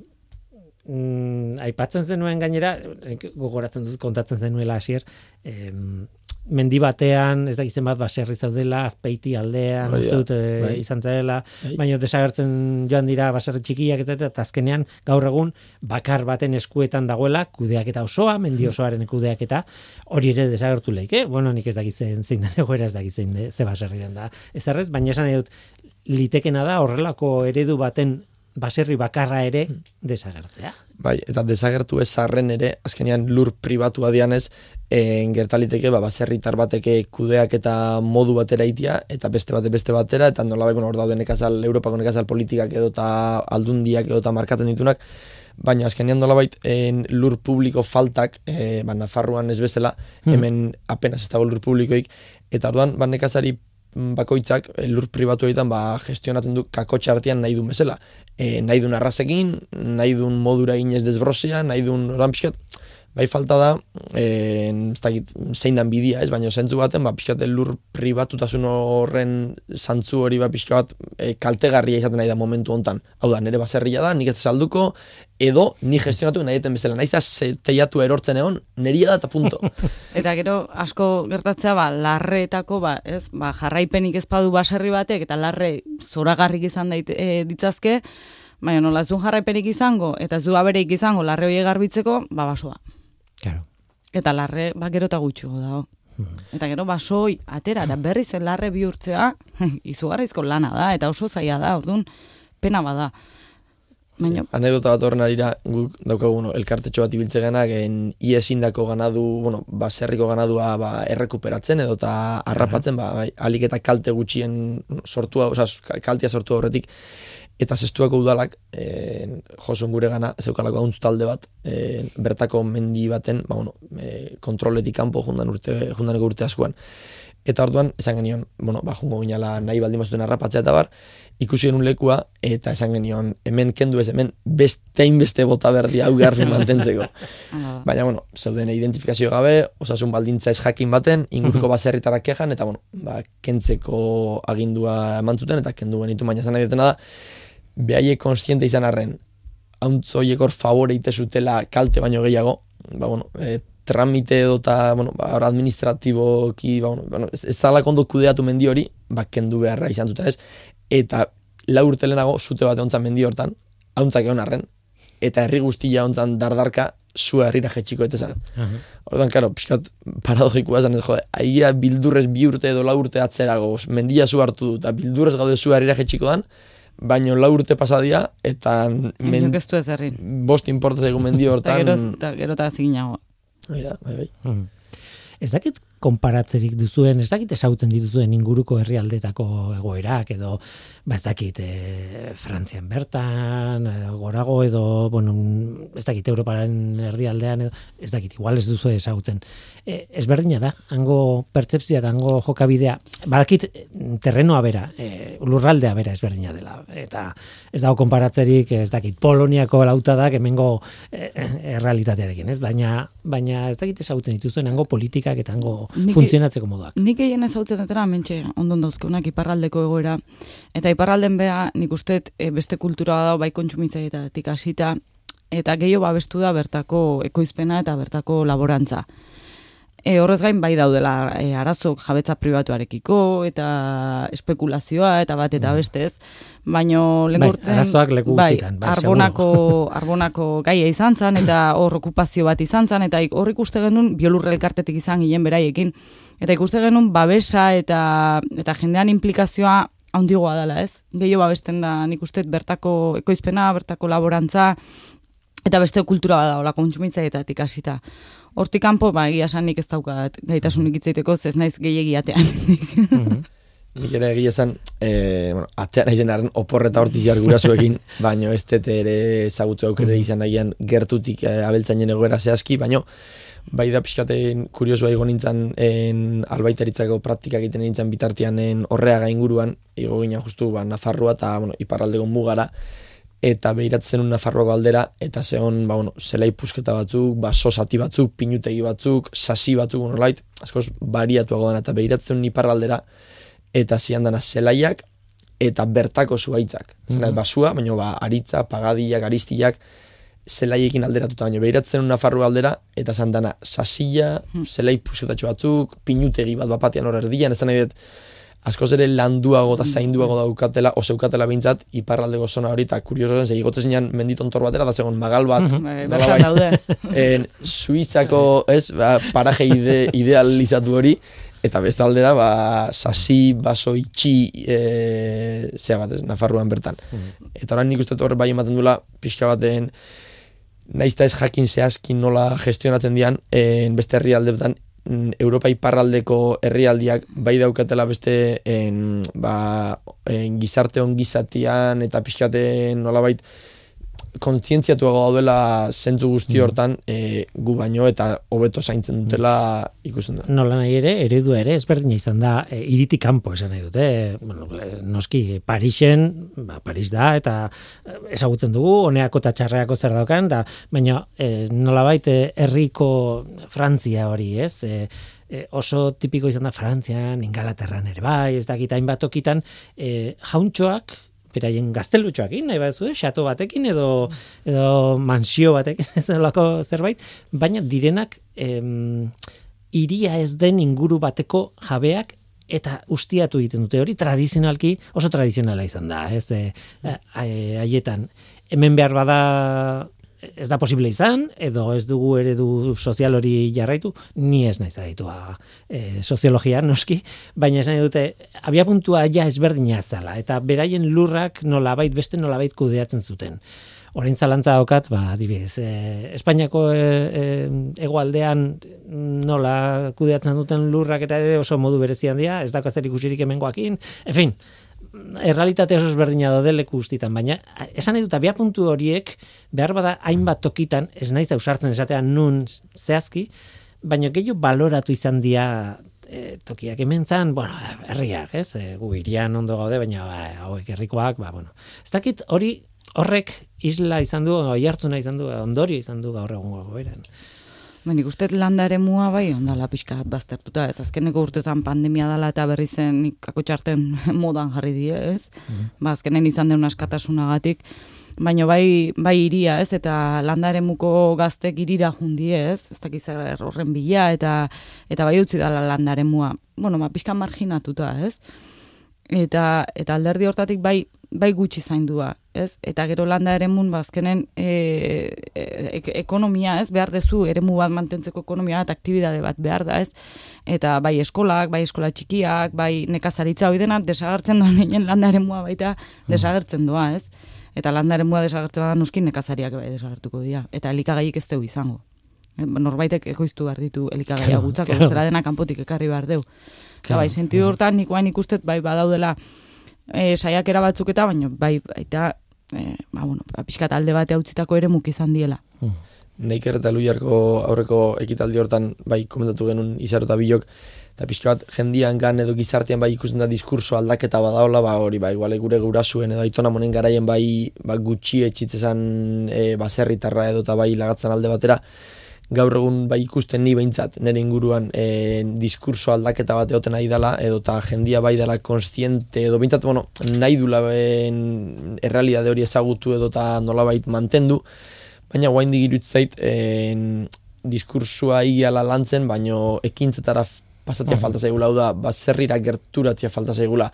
mm, aipatzen zenuen gainera, gogoratzen dut, kontatzen zenuela hasier, em, mendi batean, ez dakizen bat baserri zaudela, Azpeiti aldean, uste dut, e, bai. izan zaudela, bai. Baina desagertzen joan dira baserri txikiak, eta azkenean gaur egun bakar baten eskuetan dagoela, kudeaketa osoa, mendi osoaren kudeaketa, hori ere desagertu leike, bueno, nik ez dakizen zein den egoera, ez dakizen de, ze baserri den da. Ez errez, baina esan edut, litekena da horrelako eredu baten baserri bakarra ere desagertzea. Bai, eta desagertu ez arren ere, azkenean lur pribatua dianez, en gertaliteke ba, baserritar bateke kudeak eta modu batera itia, eta beste bate beste batera, eta nolabait, bueno, hor daude nekazal, Europako nekazal politikak edo eta aldundiak edo eta markatzen ditunak, baina azkenean nolabait en lur publiko faltak, e, ba, Nafarroan ez bezala, hemen apenas ez dago lur publikoik, eta orduan, ba, nekazari bakoitzak lur pribatu egiten ba, gestionatzen du kakotxa artean nahi duen bezala. E, nahi duen arrazekin, nahi duen modura ginez desbrozia, nahi duen oran pixkat, bai falta da, e, ez dakit, zein dan bidia, ez, baina zentzu baten, ba, pixkat lur pribatutasun horren zantzu hori ba, pixka bat e, kaltegarria izaten nahi da momentu hontan. Hau da, nire baserria da, nik ez salduko, edo ni gestionatu nahi eten bezala. Naiz da teiatu erortzen egon, neria da eta punto. Eta gero, asko gertatzea, ba, larreetako, ba, ez, ba, jarraipenik ez badu baserri batek, eta larre zoragarrik izan daite, e, ditzazke, Baina nola ez du jarraiperik izango, eta ez du abereik izango larre horiek garbitzeko, ba basoa. Claro. Eta larre, ba, gero eta gutxiago dago. Eta gero basoi atera, eta berriz larre bihurtzea, izugarrizko lana da, eta oso zaila da, orduan, pena bada. Baina... Anekdota bat horren arira, guk daukagu, bueno, elkartetxo bat ibiltze genak, iesindako ganadu, bueno, baserriko ganadua ba, errekuperatzen edo eta harrapatzen, ba, bai, alik eta kalte gutxien sortua, oza, kaltea sortua horretik, eta zestuako udalak, e, josun gure gana, zeukalako hauntz talde bat, e, bertako mendi baten, ba, bueno, e, kontroletik kanpo jundan urte, jundaneko urte askoan. Eta orduan, esan genion, bueno, ba, jungo ginala nahi baldin mazuten harrapatzea eta bar, ikusi genuen lekua, eta esan genion, hemen kendu ez, hemen bestein beste bota berdi hau garbi mantentzeko. Baina, bueno, zeuden identifikazio gabe, osasun baldintza ez jakin baten, inguruko baserritarak kejan, eta, bueno, ba, kentzeko agindua eman zuten, eta kendu genitu, baina zan nahi dutena da, behaiek konstiente izan arren, hauntzoiek hor favore ite zutela kalte baino gehiago, ba, bueno, e, tramite edo eta, bueno, ba, administratiboki, ba, bueno, bueno, ez, ez da lakondo kudeatu mendi hori, ba, kendu beharra izan zuten ez, eta lau urte lehenago zute bat egontzan mendi hortan, hauntzak egon arren, eta herri guztia ontzan dardarka zua herrira jetxiko etezan. Uh-huh. Orduan, karo, pixkat paradojikoa esan, ez, jode, aia bildurrez bi urte edo lau urte atzerago, mendia zu hartu du, eta bildurrez gaude zua herrira jetxiko dan, baino lau urte pasadia, eta men... bost importaz egun mendi hortan... Eta gero eta ziginago. Bai da, bai, bai. Hmm. Ez dakit konparatzerik duzuen, ez dakit esautzen dituzuen inguruko herrialdetako egoerak, edo, ba ez dakit, e, Frantzian bertan, e, gorago edo, bueno, ez dakit, Europaren herrialdean, edo, ez dakit, igual ez duzu esautzen. E, ezberdina da, hango pertzepzioa eta hango jokabidea, badakit terrenoa bera, e, lurraldea bera ezberdina dela, eta ez dago konparatzerik, ez dakit, Poloniako lautadak hemengo e, errealitatearekin, ez? Baina, baina ez dakit esautzen dituzuen hango politikak eta hango Nik, funtzionatzeko moduak. Nik egin ezautzen etera, mentxe, ondon dauzkeunak iparraldeko egoera, eta iparralden beha, nik usteet e, beste kultura da bai kontsumitzaietatik hasita, eta gehiago babestu da bertako ekoizpena eta bertako laborantza. E, horrez gain bai daudela e, arazok jabetza pribatuarekiko eta espekulazioa eta bat eta bestez, baino lengurten bai, arazoak leku guztietan, bai, arbonako, arbonako gaia izan zen eta hor okupazio bat izan zen eta hor ikuste genuen biolurre elkartetik izan ginen beraiekin eta ikuste genuen babesa eta eta jendean implikazioa handigoa dela, ez? Gehiago babesten da nik uste bertako ekoizpena, bertako laborantza eta beste kultura bada hola kontsumitzaietatik hasita. Hortik kanpo, ba, egia esan nik ez daukat gaitasunik hitzaiteko, ez naiz gehiegi atean. Nik ere egia esan, e, bueno, atean aizen arren oporreta hortiziar gurasoekin, baino ez tete ere ezagutzu aukere izan nahian gertutik e, abeltzainen egoera zehazki, baino bai da pixkaten kuriosua igo nintzen en, albaitaritzako praktika egiten nintzen bitartian horreaga inguruan, igo ginen justu ba, Nafarroa eta bueno, iparraldeko mugara, eta behiratzen un Nafarroako aldera, eta zehon, ba, bueno, zelai pusketa batzuk, ba, sosati batzuk, pinutegi batzuk, sasi batzuk, bueno, lait, askoz bariatuago dena, eta behiratzen un iparraldera, eta zian dana zelaiak, eta bertako zuaitzak. Mm-hmm. Zena, basua, baina ba, aritza, pagadiak, aristiak, zelaiekin alderatuta, baina behiratzen un Nafarroako aldera, eta zan dana sasilla, mm. zelai pusketatxo batzuk, pinutegi bat bapatean hor erdian, ez da nahi dut, askoz ere landuago eta zainduago daukatela, oseukatela behintzat, iparraldeko zona hori, eta kurioso zen, igotzen zinean menditontor batera, da zegoen magal bat, mm-hmm. en, Suizako, ez, ba, paraje ide, idealizatu hori, eta bestalde da, ba, sasi, baso, itxi, e, zea bat, ez, Nafarroan bertan. Mm-hmm. Eta orain nik uste horre bai ematen dula, pixka baten, naizta ez jakin zehazkin nola gestionatzen dian, en, beste herrialdeetan, Europa iparraldeko herrialdiak bai daukatela beste en, ba, en gizarte ongizatian eta pixkaten nolabait kontzientziatuago daudela zentzu guzti hortan e, gu baino eta hobeto zaintzen dutela ikusten da. Nola nahi ere, eredua ere ezberdina izan da e, iritik kanpo esan nahi dute. Bueno, noski Parisen, ba, Paris da eta ezagutzen dugu, honeako eta txarreako zer daukan, da, baina e, nolabait herriko Frantzia hori, ez? E, e, oso tipiko izan da Frantzian, Ingalaterran ere bai, ez dakit hainbat tokitan, e, jauntxoak, beraien gaztelutxoakin, nahi bat zuen, xato batekin edo, edo mansio batekin, ez delako zerbait, baina direnak em, iria ez den inguru bateko jabeak eta ustiatu egiten dute hori, tradizionalki oso tradizionala izan da, ez, e, haietan. Hemen behar bada ez da posible izan, edo ez dugu eredu sozial hori jarraitu, ni ez naiz aditua e, soziologia, noski, baina esan dute, abia puntua ja ezberdina zala, eta beraien lurrak nolabait beste nolabait kudeatzen zuten. Orain zalantza daukat, ba, adibidez, e, Espainiako e, e, hegoaldean nola kudeatzen duten lurrak eta ere oso modu berezian dira, ez dago zer ikusirik hemengoakin, en fin, errealitate oso ezberdina daude leku guztietan, baina esan nahi dut abia puntu horiek behar bada hainbat tokitan, ez naiz ausartzen esatean nun zehazki, baina gehiago baloratu izan dira e, tokiak hemen zan, bueno, herriak, ez, e, gu irian ondo gaude, baina ba, hauek herrikoak, ba, bueno, ez dakit hori horrek isla izan du, oihartzuna izan du, ondorio izan du gaur egungo goberan. Ben, ikusten landa eremua bai ondala pixka bat baztertuta, ez azkeneko urtetan pandemia dela eta berri zen ikako txarten modan jarri die, ez? Mm-hmm. Ba, azkenen izan deun askatasunagatik, baina bai, bai iria, ez? Eta landa eremuko gaztek irira jundie, ez? Ez dakiz horren bila, eta eta bai utzi dela landa eremua, bueno, ma, pixka marginatuta, ez? Eta, eta alderdi hortatik bai, bai gutxi zaindua, ez? Eta gero landa eremun bazkenen e, e, ekonomia, ez? Behar dezu eremu bat mantentzeko ekonomia bat, aktibidade bat behar da, ez? Eta bai eskolak, bai eskola txikiak, bai nekazaritza hori dena desagertzen doan egin landa eremua baita desagertzen doa, ez? Eta landa eremua desagertzen da nuskin nekazariak bai desagertuko dira. Eta elikagaiik ez deu izango. Norbaitek ekoiztu behar ditu elikagaia gutzako, bestela dena kanpotik ekarri behar deu. Eta bai, sentidu hortan nik guain ikustet bai badaudela e, saiakera batzuk eta baina bai baita e, ba, bueno, pixkat alde bate hautzitako ere muk izan diela. Hmm. Neiker eta Luiarko aurreko ekitaldi hortan bai komentatu genuen Izaro eta Bilok, eta pixka bat jendian gan edo gizartean bai ikusten da diskurso aldaketa badaola, ba hori bai igual gure gurasuen edo aitona monen garaien bai ba, gutxi etxitzezan e, baserritarra edo eta bai lagatzen alde batera, gaur egun bai ikusten ni behintzat nire inguruan e, diskurso aldaketa bat egoten nahi dela, edo eta jendia bai dela konstiente, edo behintzat, bueno, nahi dula ben errealidade hori ezagutu edo eta nolabait mantendu, baina guain digirut zait e, diskursua igiala lantzen, baino ekintzetara pasatia falta zaigula, hau da, baserrira gerturatia falta zaigula,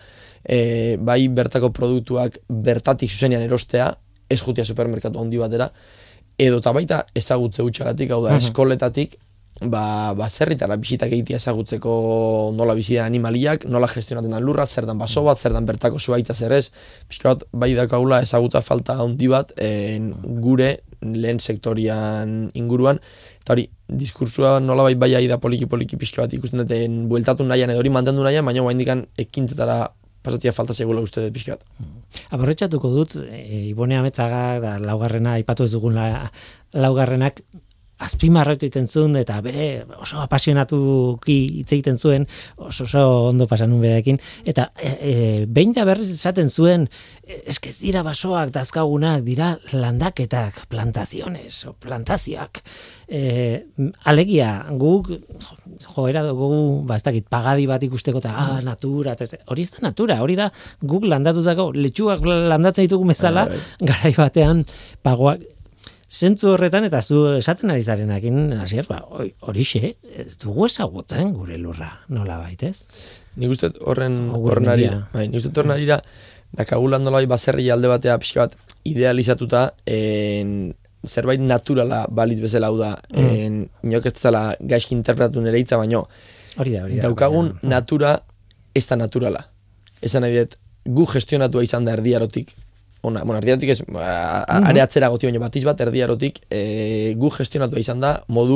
e, bai bertako produktuak bertatik zuzenean erostea, ez jutia supermerkatu handi batera, edo eta baita ezagutze utxagatik, hau da, uh-huh. eskoletatik, ba, ba zerritara bisitak egitea ezagutzeko nola bizia animaliak, nola gestionatzen dan lurra, zer dan baso bat, zer dan bertako zuaitza zer ez, pixka bat, bai dakaula ezagutza falta handi bat en, gure lehen sektorian inguruan, eta hori, diskursua nola bai bai da poliki-poliki pixka bat ikusten duten bueltatu nahian edo hori mantendu nahian, baina guain dikan ekintzetara pasatia falta segula uste dut pixkat. Aborretxatuko dut, e, Ibone Ametzaga, da, laugarrena, aipatu ez dugun la, laugarrenak, azpimarratu egiten zuen, eta bere oso apasionatuki hitz egiten zuen, oso, oso ondo pasanun berekin, eta e, e, behin da berriz esaten zuen, eskez dira basoak dazkagunak, dira landaketak, plantaziones, o plantazioak. E, alegia, guk, joera dugu, ba ez dakit, pagadi bat ikusteko, eta ah, natura, eta hori ez da natura, hori da guk landatutako, letxuak landatzen ditugu bezala, garai batean, pagoak, zentzu horretan, eta zu esaten ari zarenakin, hasier, ba, horixe, ez dugu ezagutzen gure lurra, nola baitez? Nik uste horren horren arira, bai, nik uste horren arira, dakagulan nola bai baserri alde batea pixka bat idealizatuta, en, zerbait naturala balitz bezala hau da, en, inok ez zela gaizki interpretatu nire hitza, baino, hori da, hori da, daukagun baina, natura ez da naturala. Esan nahi dut, gu gestionatua izan da erdiarotik, ona, bueno, erdiarotik ez, are atzera goti baino batiz bat erdiarotik, e, gu gestionatua izan da modu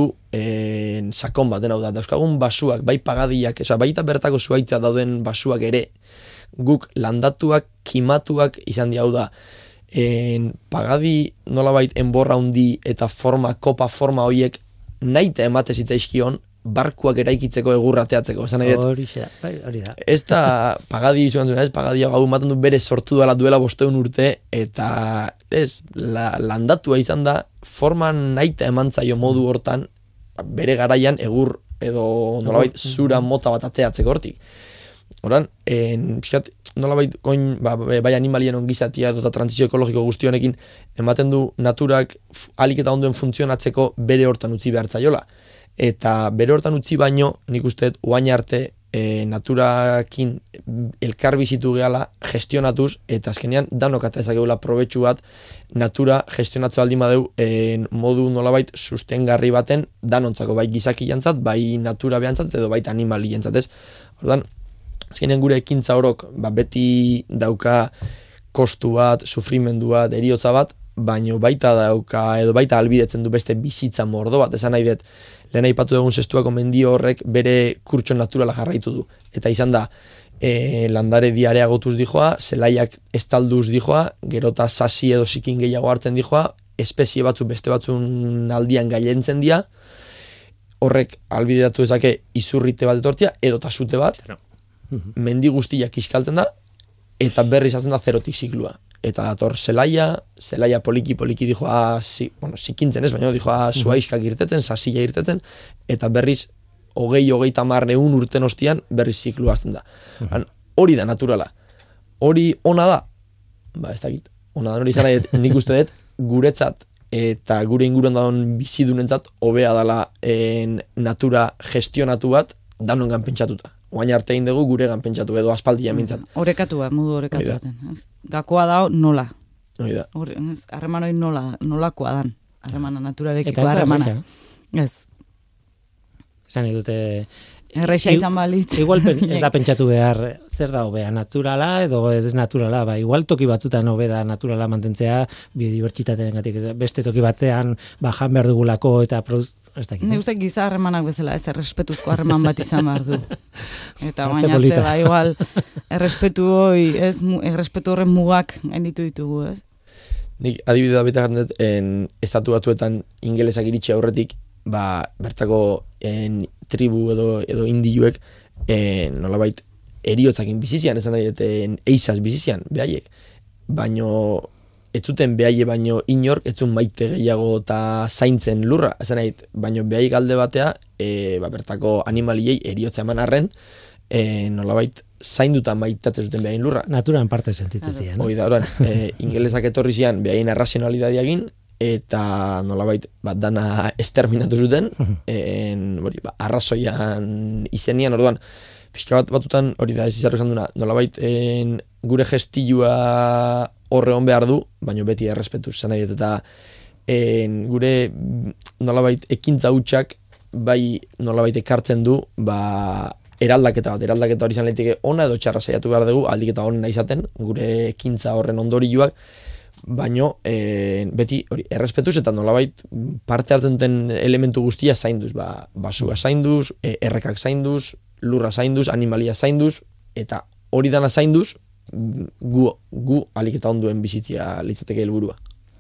e, sakon bat, hau da, dauzkagun basuak, bai pagadiak, oza, baita bertako zuaitza dauden basuak ere, guk landatuak, kimatuak izan di hau da, en, pagadi nolabait enborra hundi eta forma, kopa forma horiek naite emate zitzaizkion, barkuak eraikitzeko egurra teatzeko, esan nahi dut. Hori da, hori da. Ez da pagadi izuan zuen, ez, pagadi hau maten du bere sortu dela duela bosteun urte, eta ez, la, landatua izan da, forman naita emantzaio modu hortan, bere garaian egur edo nolabait zura mota bat ateatzeko hortik. Horan, en, pixat, nolabait goin, ba, bai animalien ongizatia edo eta transizio ekologiko guztionekin, ematen du naturak alik eta ondoen funtzionatzeko bere hortan utzi behar zaiola. Eta bere hortan utzi baino, nik uste, oain arte e, naturakin elkar bizitu gehala gestionatuz, eta azkenean danok ata ezakegula probetxu bat natura gestionatze baldin badeu e, modu nolabait sustengarri baten danontzako, bai gizaki jantzat, bai natura behantzat, edo baita animali jantzat, ez? Ordan, azkenean gure ekintza horok, ba, beti dauka kostu bat, sufrimendu bat, eriotza bat, baino baita dauka, edo baita albidetzen du beste bizitza mordo bat, esan nahi dut, lehen aipatu dugun zestuako mendio horrek bere kurtso naturala jarraitu du. Eta izan da, e, landare diarea gotuz dijoa, zelaiak estalduz dijoa, gerota sasi edo sikin gehiago hartzen dijoa, espezie batzu beste batzun aldian gailentzen dira, horrek albideratu ezake izurrite bat etortzia, edo tasute bat, mendi guztiak iskaltzen da, eta berriz hazen da zerotik ziklua. Eta dator zelaia, zelaia poliki-poliki dijoa, si, bueno, sikintzen ez, baina dijoa zuaiskak irteten, sasila irteten, eta berriz hogei, hogei tamar neun urten ostian berriz ziklua hasten da. Uh-huh. Hori da naturala. Hori ona da? Ba, ez dakit. Ona da, hori izan nahi, nik uste dut, guretzat eta gure inguruan daun bizidunentzat hobea dela en, natura gestionatu bat danongan pentsatuta. Oain arte egin dugu guregan pentsatu edo aspaldia mintzat. Orekatu bat, modu orekatu baten. Gakoa dao nola. Hori da. Harreman hori nola, nolakoa dan. Harremana naturarekiko harremana. Ez. Esan edute... Erreixa izan balitz. Igual ez da pentsatu behar zer da hobea, naturala edo ez naturala. Ba, igual toki batzutan hobe da naturala mantentzea biodibertsitatearengatik. Beste toki batean ba, jan behar dugulako eta produz... Ne uste giza harremanak bezala, ez errespetuzko harreman bat izan behar du. Eta baina arte da, igual, errespetu hoi, ez, errespetu horren mugak gainditu ditugu, ez? Nik adibidea beta jartzen dut, en estatu batuetan ingelesak iritsi aurretik, ba, bertako en, tribu edo, edo indiuek, en, nolabait, eriotzakin bizizian, esan nahi, eta eizaz bizizian, behaiek. Baino... ez zuten behaie baino inork, ez zuen maite gehiago eta zaintzen lurra, esan nahi, baino behai galde batea, e, ba, bertako animaliei eriotza eman arren, e, nolabait zainduta maitatzen zuten behain lurra. Naturan parte sentitzen zian. Hoi da, oran, e, ingelesak etorri zian behain arrazionalidadia egin, eta nolabait bat dana esterminatu zuten, en, bori, ba, arrazoian izenian, orduan, pixka bat batutan, hori da, ez izarro esan duna, nolabait en, gure gestilua horre hon behar du, baina beti errespetuz zan nahi, eta en, gure nolabait ekintza hutsak bai nolabait ekartzen du ba, eraldaketa bat, eraldaketa hori izan leiteke ona edo txarra saiatu behar dugu, aldiketa honena izaten, gure ekintza horren ondorioak, baino e, beti hori errespetuz eta nolabait parte hartzen duten elementu guztia zainduz, ba, basua zainduz, e, errekak zainduz, lurra zainduz, animalia zainduz, eta hori dana zainduz, gu, gu alik eta onduen bizitzia litzateke helburua.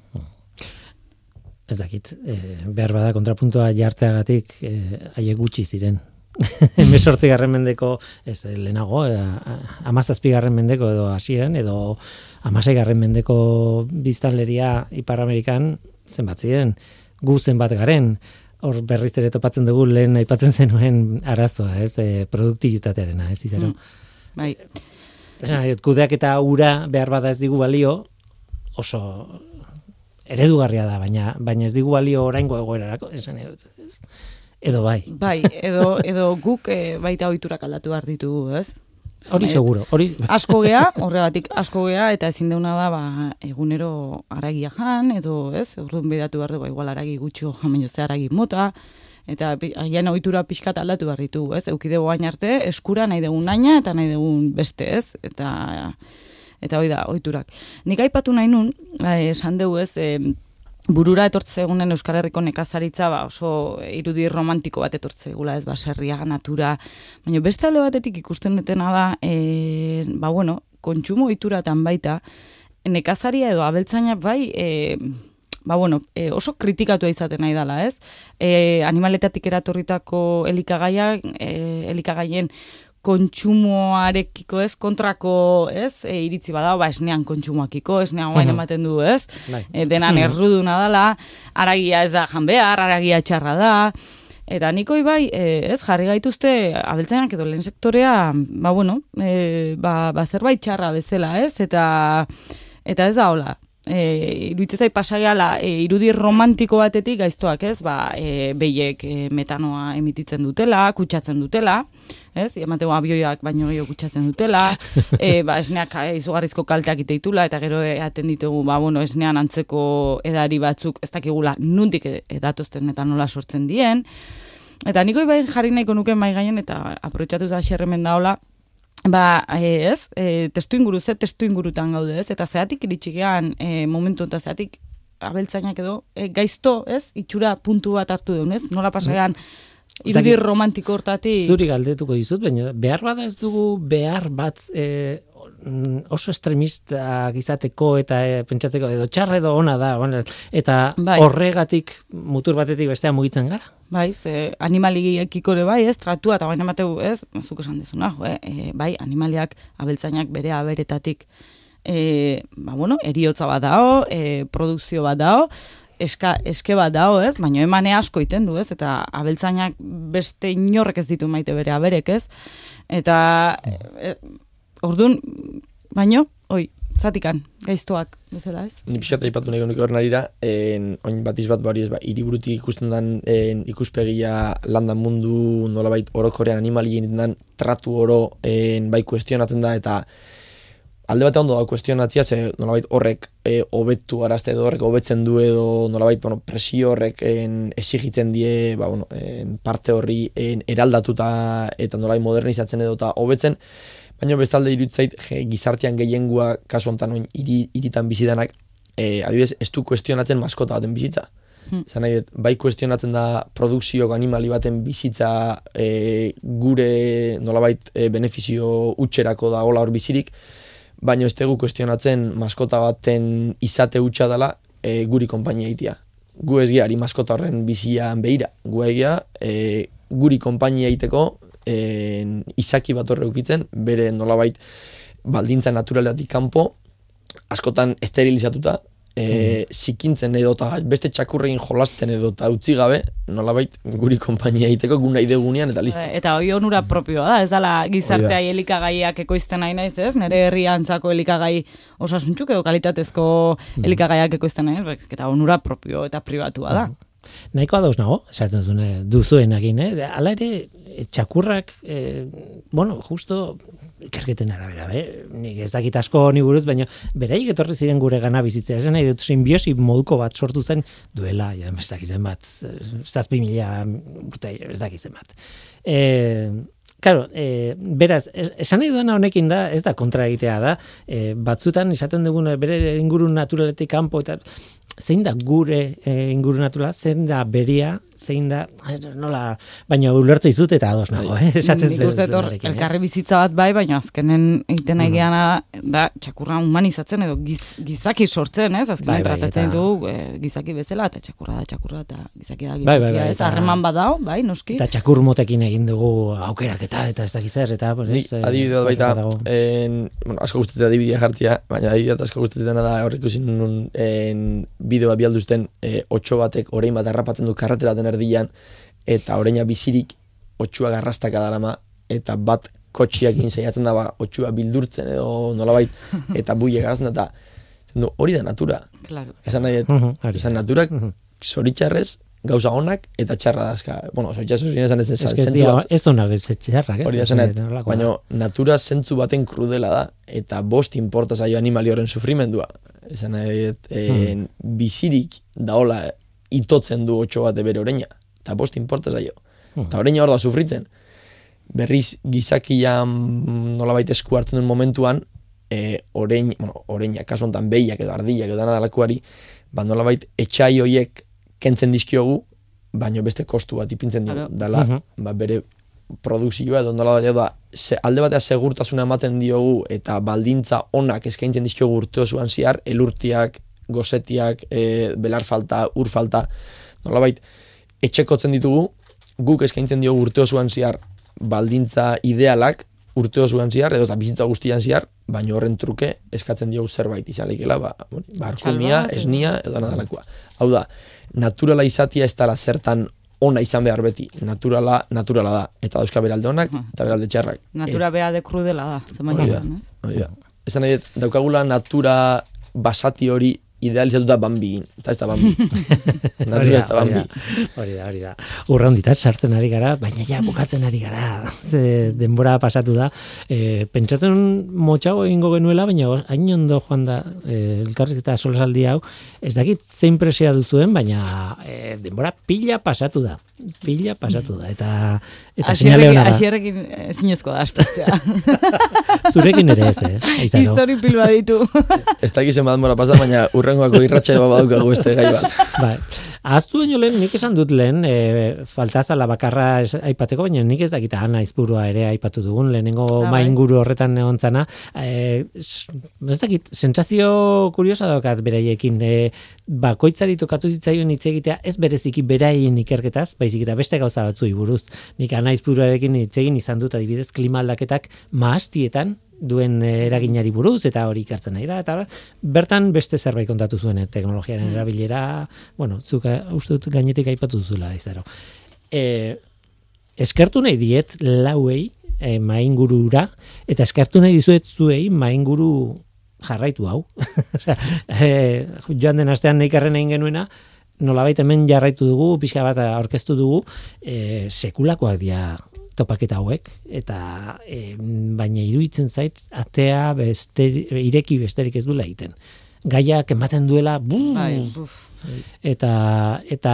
Ez dakit, e, behar bada kontrapuntua jartzeagatik e, haiek gutxi ziren. Hemezortzigarren mendeko, ez lehenago, e, hamazazpigarren mendeko edo hasieran, edo hamaseigarren mendeko biztanleria Ipar Amerikan zenbat ziren, gu zenbat garen, hor berriz ere topatzen dugu lehen aipatzen zenuen arazoa, ez, e, produktibitatearena, ez izaro. Mm, bai. Esan, kudeak eta ura behar bada ez digu balio, oso eredugarria da, baina baina ez digu balio oraingo egoerarako, esan edut, ez. Edo bai. Bai, edo, edo guk e, baita ohiturak aldatu behar ditugu, ez? Hori seguro, hori... Asko gea, horregatik asko gea, eta ezin deuna da, ba, egunero aragia jan, edo, ez? Orduan bedatu behar dugu, igual aragi gutxo jamenio ze aragi mota, eta haien ohitura pixkat aldatu behar ditu, ez? Eukidego gain arte, eskura nahi dugun naina, eta nahi dugun beste, ez? Eta, eta hoi da, ohiturak. Nik aipatu nahi nun, esan dugu, ez, e, burura etortze egunen Euskal Herriko nekazaritza ba, oso irudi romantiko bat etortze egula, ez, baserria, natura, baina beste alde batetik ikusten detena da, e, ba, bueno, kontsumo ohituratan baita, nekazaria edo abeltzaina bai, e, ba, bueno, e, oso kritikatua izaten nahi dela, ez? E, animaletatik eratorritako elikagaiak, e, elikagaien kontsumoarekiko, ez, kontrako, ez, e, iritzi bada, ba, esnean kontsumoakiko, esnean guain ematen du, ez, e, denan erruduna dela, aragia ez da jan behar, aragia txarra da, eta nikoi bai, e, ez, jarri gaituzte, abeltzainak edo lehen sektorea, ba, bueno, e, ba, ba, zerbait txarra bezala, ez, eta, eta ez da hola, e, iruditzen zait pasageala e, irudi romantiko batetik gaiztoak, ez? Ba, e, behiek e, metanoa emititzen dutela, kutsatzen dutela, ez? Emateko abioiak baino gehiago kutsatzen dutela, e, ba, esneak e, izugarrizko kalteak iteitula, eta gero eaten ditugu, ba, bueno, esnean antzeko edari batzuk, ez dakigula nundik edatozten eta nola sortzen dien. Eta niko bai jarri nahiko nuke mai gainen, eta aprobetxatu da xerremen daola, ba, e, ez, e, testu inguru, ze testu ingurutan gaude, ez? Eta zeatik iritxigean e, momentu eta zeatik abeltzainak edo e, gaizto, ez? Itxura puntu bat hartu duen, ez? Nola pasagean irudi romantiko hortatik. Zuri galdetuko dizut, baina behar bada ez dugu behar bat e, oso extremistak izateko eta e, pentsatzeko edo txarra edo ona da, bueno, eta bai. Horregatik mutur batetik bestea mugitzen gara. Bai, ze animaliekiko ere bai, ez, tratua, eta baina emateu, ez, zuk esan dezuna, jo, eh? e, bai, animaliak, abeltzainak bere aberetatik, e, ba, bueno, eriotza bat dao, e, produkzio bat dao, eska, eske bat dao, ez, baina emane asko iten du, ez, eta abeltzainak beste inorrek ez ditu maite bere aberek, ez, eta, e, orduan, baino, oi, zatikan, gaiztoak, bezala, ez? Ni pixkat aipatu nahi honik horren arira, oin batiz bat bari ez, ba, hiriburutik ikusten den en, ikuspegia landan mundu nolabait orokorrean animalien den tratu oro en, bai kuestionatzen da, eta alde batean ondo da kuestionatzia, ze nolabait horrek e, hobetu arazte edo horrek hobetzen du edo nolabait bueno, presio horrek en, exigitzen die ba, bueno, en, parte horri en, eraldatuta eta nolabait modernizatzen edo eta hobetzen. Baina bestalde iruditzait gizartean gehiengua kasu honetan oin hiri, hiritan bizidanak e, adibidez ez du kuestionatzen maskota baten bizitza. Hmm. Zan nahi, bai kuestionatzen da produkzio animali baten bizitza e, gure nolabait e, benefizio utxerako da hola hor bizirik, baina ez dugu kuestionatzen maskota baten izate hutsa dela e, guri konpainia egitea. Gu ez gehiari maskota horren bizian behira. Gu egia e, guri konpainia egiteko En, izaki bat horre ukitzen, bere nolabait baldintza naturaletik kanpo, askotan esterilizatuta, e, mm. zikintzen edo eta beste txakurrein jolasten edo eta utzi gabe, nolabait guri konpainia egiteko gu nahi degunean eta listo. Eta hori onura propioa da, ez dala gizartea elikagaiak ekoizten nahi naiz, ez? Nere herriantzako elikagai osasuntzuk edo kalitatezko mm. elikagaiak ekoizten nahi, ez? Eta onura propio eta pribatua da. Mm. Nahikoa dauz nago, esaten zune, duzuenakin, eh? Hala ere, txakurrak, eh, bueno, justo, ikerketen arabera, eh? Nik ez dakit asko ni buruz, baina beraik etorri ziren gure gana bizitzea, esan nahi dut simbiosi moduko bat sortu zen, duela, ja, ez dakitzen bat, zazpi mila urte, ez dakitzen bat. Eh, Claro, eh, beraz, esan nahi duena honekin da, ez da kontra egitea da, eh, batzutan esaten duguna bere inguru naturaletik kanpo eta zein da gure e, inguru naturala, zein da beria, zein da, nola, baina ulertu izut eta ados nago, eh? Nik uste hor, elkarri bizitza bat bai, baina azkenen egiten nahi geana da txakurra humanizatzen edo giz, gizaki sortzen, ez? Azkenen bai, bai, tratatzen eta... du e, gizaki bezala, eta txakurra da txakurra, eta gizaki da gizakia, bai, bai, bai, ez? Harreman eta... badao, bai, noski. Eta txakur motekin egin dugu aukeraketa, eta ez dakiz zer, eta... Ni adibidea baita, en, bueno, asko guztetea adibidea jartzea, baina adibidea asko guztetea da horrek ikusin nun bideo bat bialduzten e, otxo batek orain bat harrapatzen du karretera den erdian eta oraina bizirik otxua garrastaka darama eta bat kotxiak saiatzen da ba, otxua bildurtzen edo nolabait eta buie gazten eta no, hori da natura. Claro. Esan nahi, uh -huh, esan naturak uh -huh. zoritxarrez gauza onak eta txarra dazka. Bueno, zoritxarrez zuzien esan ez zentzu bat. Ez onak ez txarrak, ez? Hori da zenet, baina natura zentzu baten krudela da eta bost inporta zaio animali horren sufrimendua. Esan nahi, hmm. bizirik daola itotzen du otxo bate bere oreina. Eta bost inporta zaio. Hmm. Eta oreina hor da sufritzen. Berriz gizakian nolabait esku hartzen duen momentuan, e, orein, bueno, oreina, kasu honetan behiak edo ardiak edo anadalakuari, ba nolabait etxai hoiek kentzen dizkiogu, baino beste kostu bat ipintzen dugu. Dala, uh -huh. ba, bere produkzioa edo nola da, ze, alde batea segurtasuna ematen diogu eta baldintza onak eskaintzen dizkiogu urte osoan ziar, elurtiak, gozetiak, e, belar falta, ur falta, nolabait, etxekotzen ditugu, guk eskaintzen diogu urte osoan ziar baldintza idealak, urte osoan ziar, edo eta bizitza guztian ziar, baina horren truke eskatzen diogu zerbait izaleikela, ba, barkumia, esnia, edo nadalakoa. Hau da, naturala izatia ez dela zertan ona izan behar beti. Naturala, naturala da. Eta dauzka beralde onak, eta beralde txarrak. Natura beralde krudela da. Hori da, hori da. Esan nahi, daukagula natura basati hori idealizatuta Bambi, eta ez da Bambi. Natura ez da Bambi. Hori da, hori da. Urra honditat sartzen ari gara, baina ja bukatzen ari gara. Ze denbora pasatu da. E, pentsatzen motxago egingo genuela, baina hain ondo joan da e, elkarrizketa solasaldi hau. Ez dakit zein presioa duzuen, baina e, denbora pila pasatu da. Pila pasatu da. Eta, eta seinale hona da. Asierrekin zinezko da aspertzea. Zurekin ere ez, eh? Histori pilua ditu. Ez dakit zen denbora pasa, baina urrengoako irratxa eba badaukagu beste gai bat. Bai. Ahaztu baino lehen, nik esan dut lehen, e, faltazala bakarra es, aipateko, baina nik ez dakita Ana Aizpurua ere aipatu dugun, lehenengo ah, mainguru horretan egon zana. E, ez dakit, sentsazio kuriosa daukat beraiekin, e, bakoitzari tokatu zitzaion hitz egitea, ez bereziki beraien ikerketaz, baizik eta beste gauza batzuei buruz. Nik Ana Aizpuruarekin hitz egin izan dut, adibidez, klima aldaketak mahastietan duen eraginari buruz, eta hori ikartzen nahi da, eta bertan beste zerbait kontatu zuen teknologiaren erabilera, bueno, zuk uste dut gainetik aipatu duzula, izaro. E, eskertu nahi diet lauei e, maingurura, eta eskertu nahi dizuet zuei mainguru jarraitu hau. Osea, e, joan den astean neikarren egin genuena, nolabait hemen jarraitu dugu, pixka bat aurkeztu dugu, e, sekulakoak dira topaketa hauek, eta e, baina iruditzen zait, atea besteri, ireki besterik ez duela egiten. Gaiak ematen duela, buu, bai, buf. eta, eta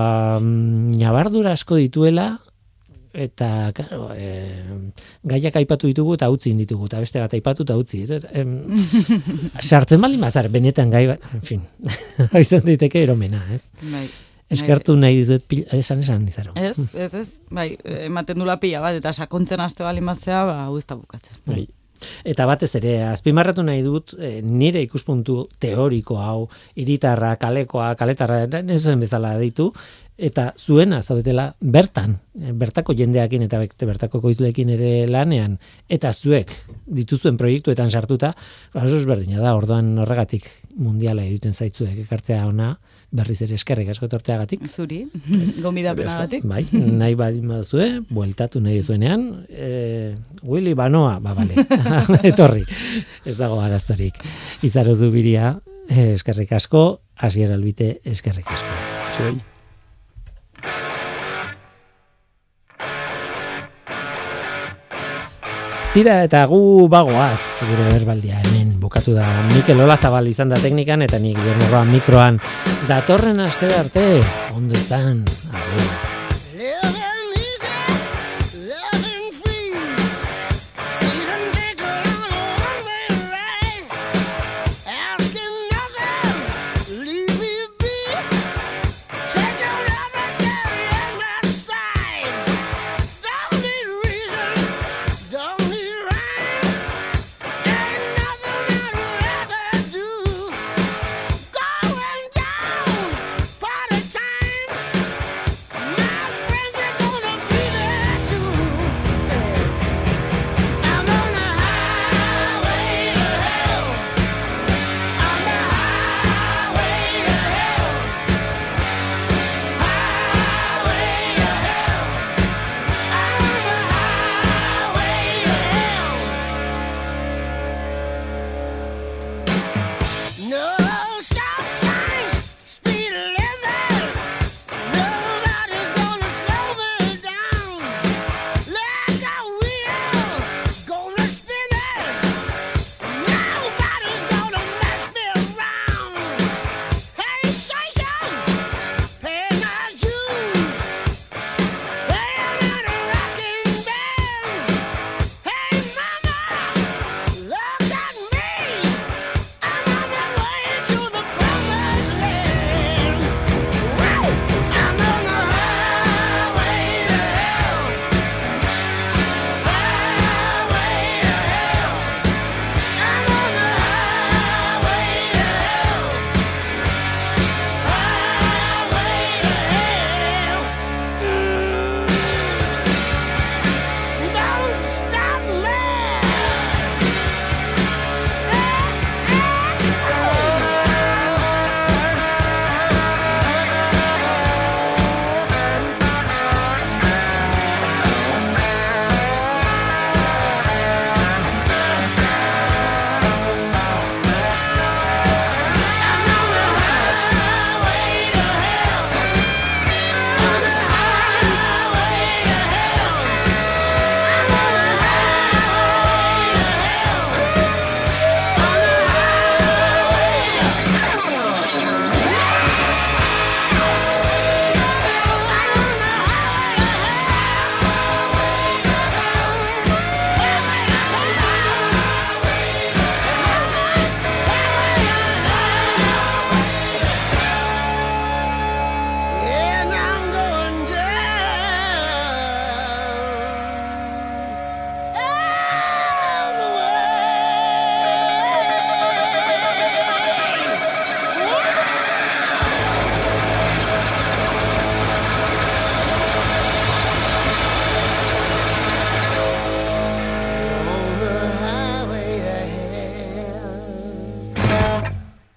um, nabardura asko dituela, eta claro, e, gaiak aipatu ditugu eta utzi ditugu, eta beste bat aipatu eta utzi. Ez, em, sartzen bali mazar, benetan gai bat, en fin, izan daiteke eromena, ez? Bai. Eskertu nahi dizut esan esan izaro. Ez, ez, ez. Bai, ematen dula pila bat, eta sakontzen aste bali mazea, ba, hau ez da bukatzen. Bai. Eta batez ere, azpimarratu nahi dut, e, nire ikuspuntu teoriko hau, hiritarra, kalekoa, kaletarra, ez zuen bezala ditu, eta zuena zaudetela bertan, bertako jendeakin eta bertako koizleekin ere lanean, eta zuek dituzuen proiektuetan sartuta, oso ezberdina da, orduan horregatik mundiala egiten zaitzuek ekartzea ona, berriz ere eskerrik asko etortzeagatik. Zuri, gonbidapenagatik. Bai, nahi badin baduzue, bueltatu nahi zuenean, e, Willy Banoa, ba, bale, etorri, ez dago arazorik. Izaro Zubiria, eskerrik asko, Asier Albite, eskerrik asko. Zuei. Tira eta gu bagoaz, gure berbaldia hemen bukatu da. Mikel Olazabal izan da teknikan, eta nik Guillermo Roa mikroan. Datorren aste arte, ondo izan, agur.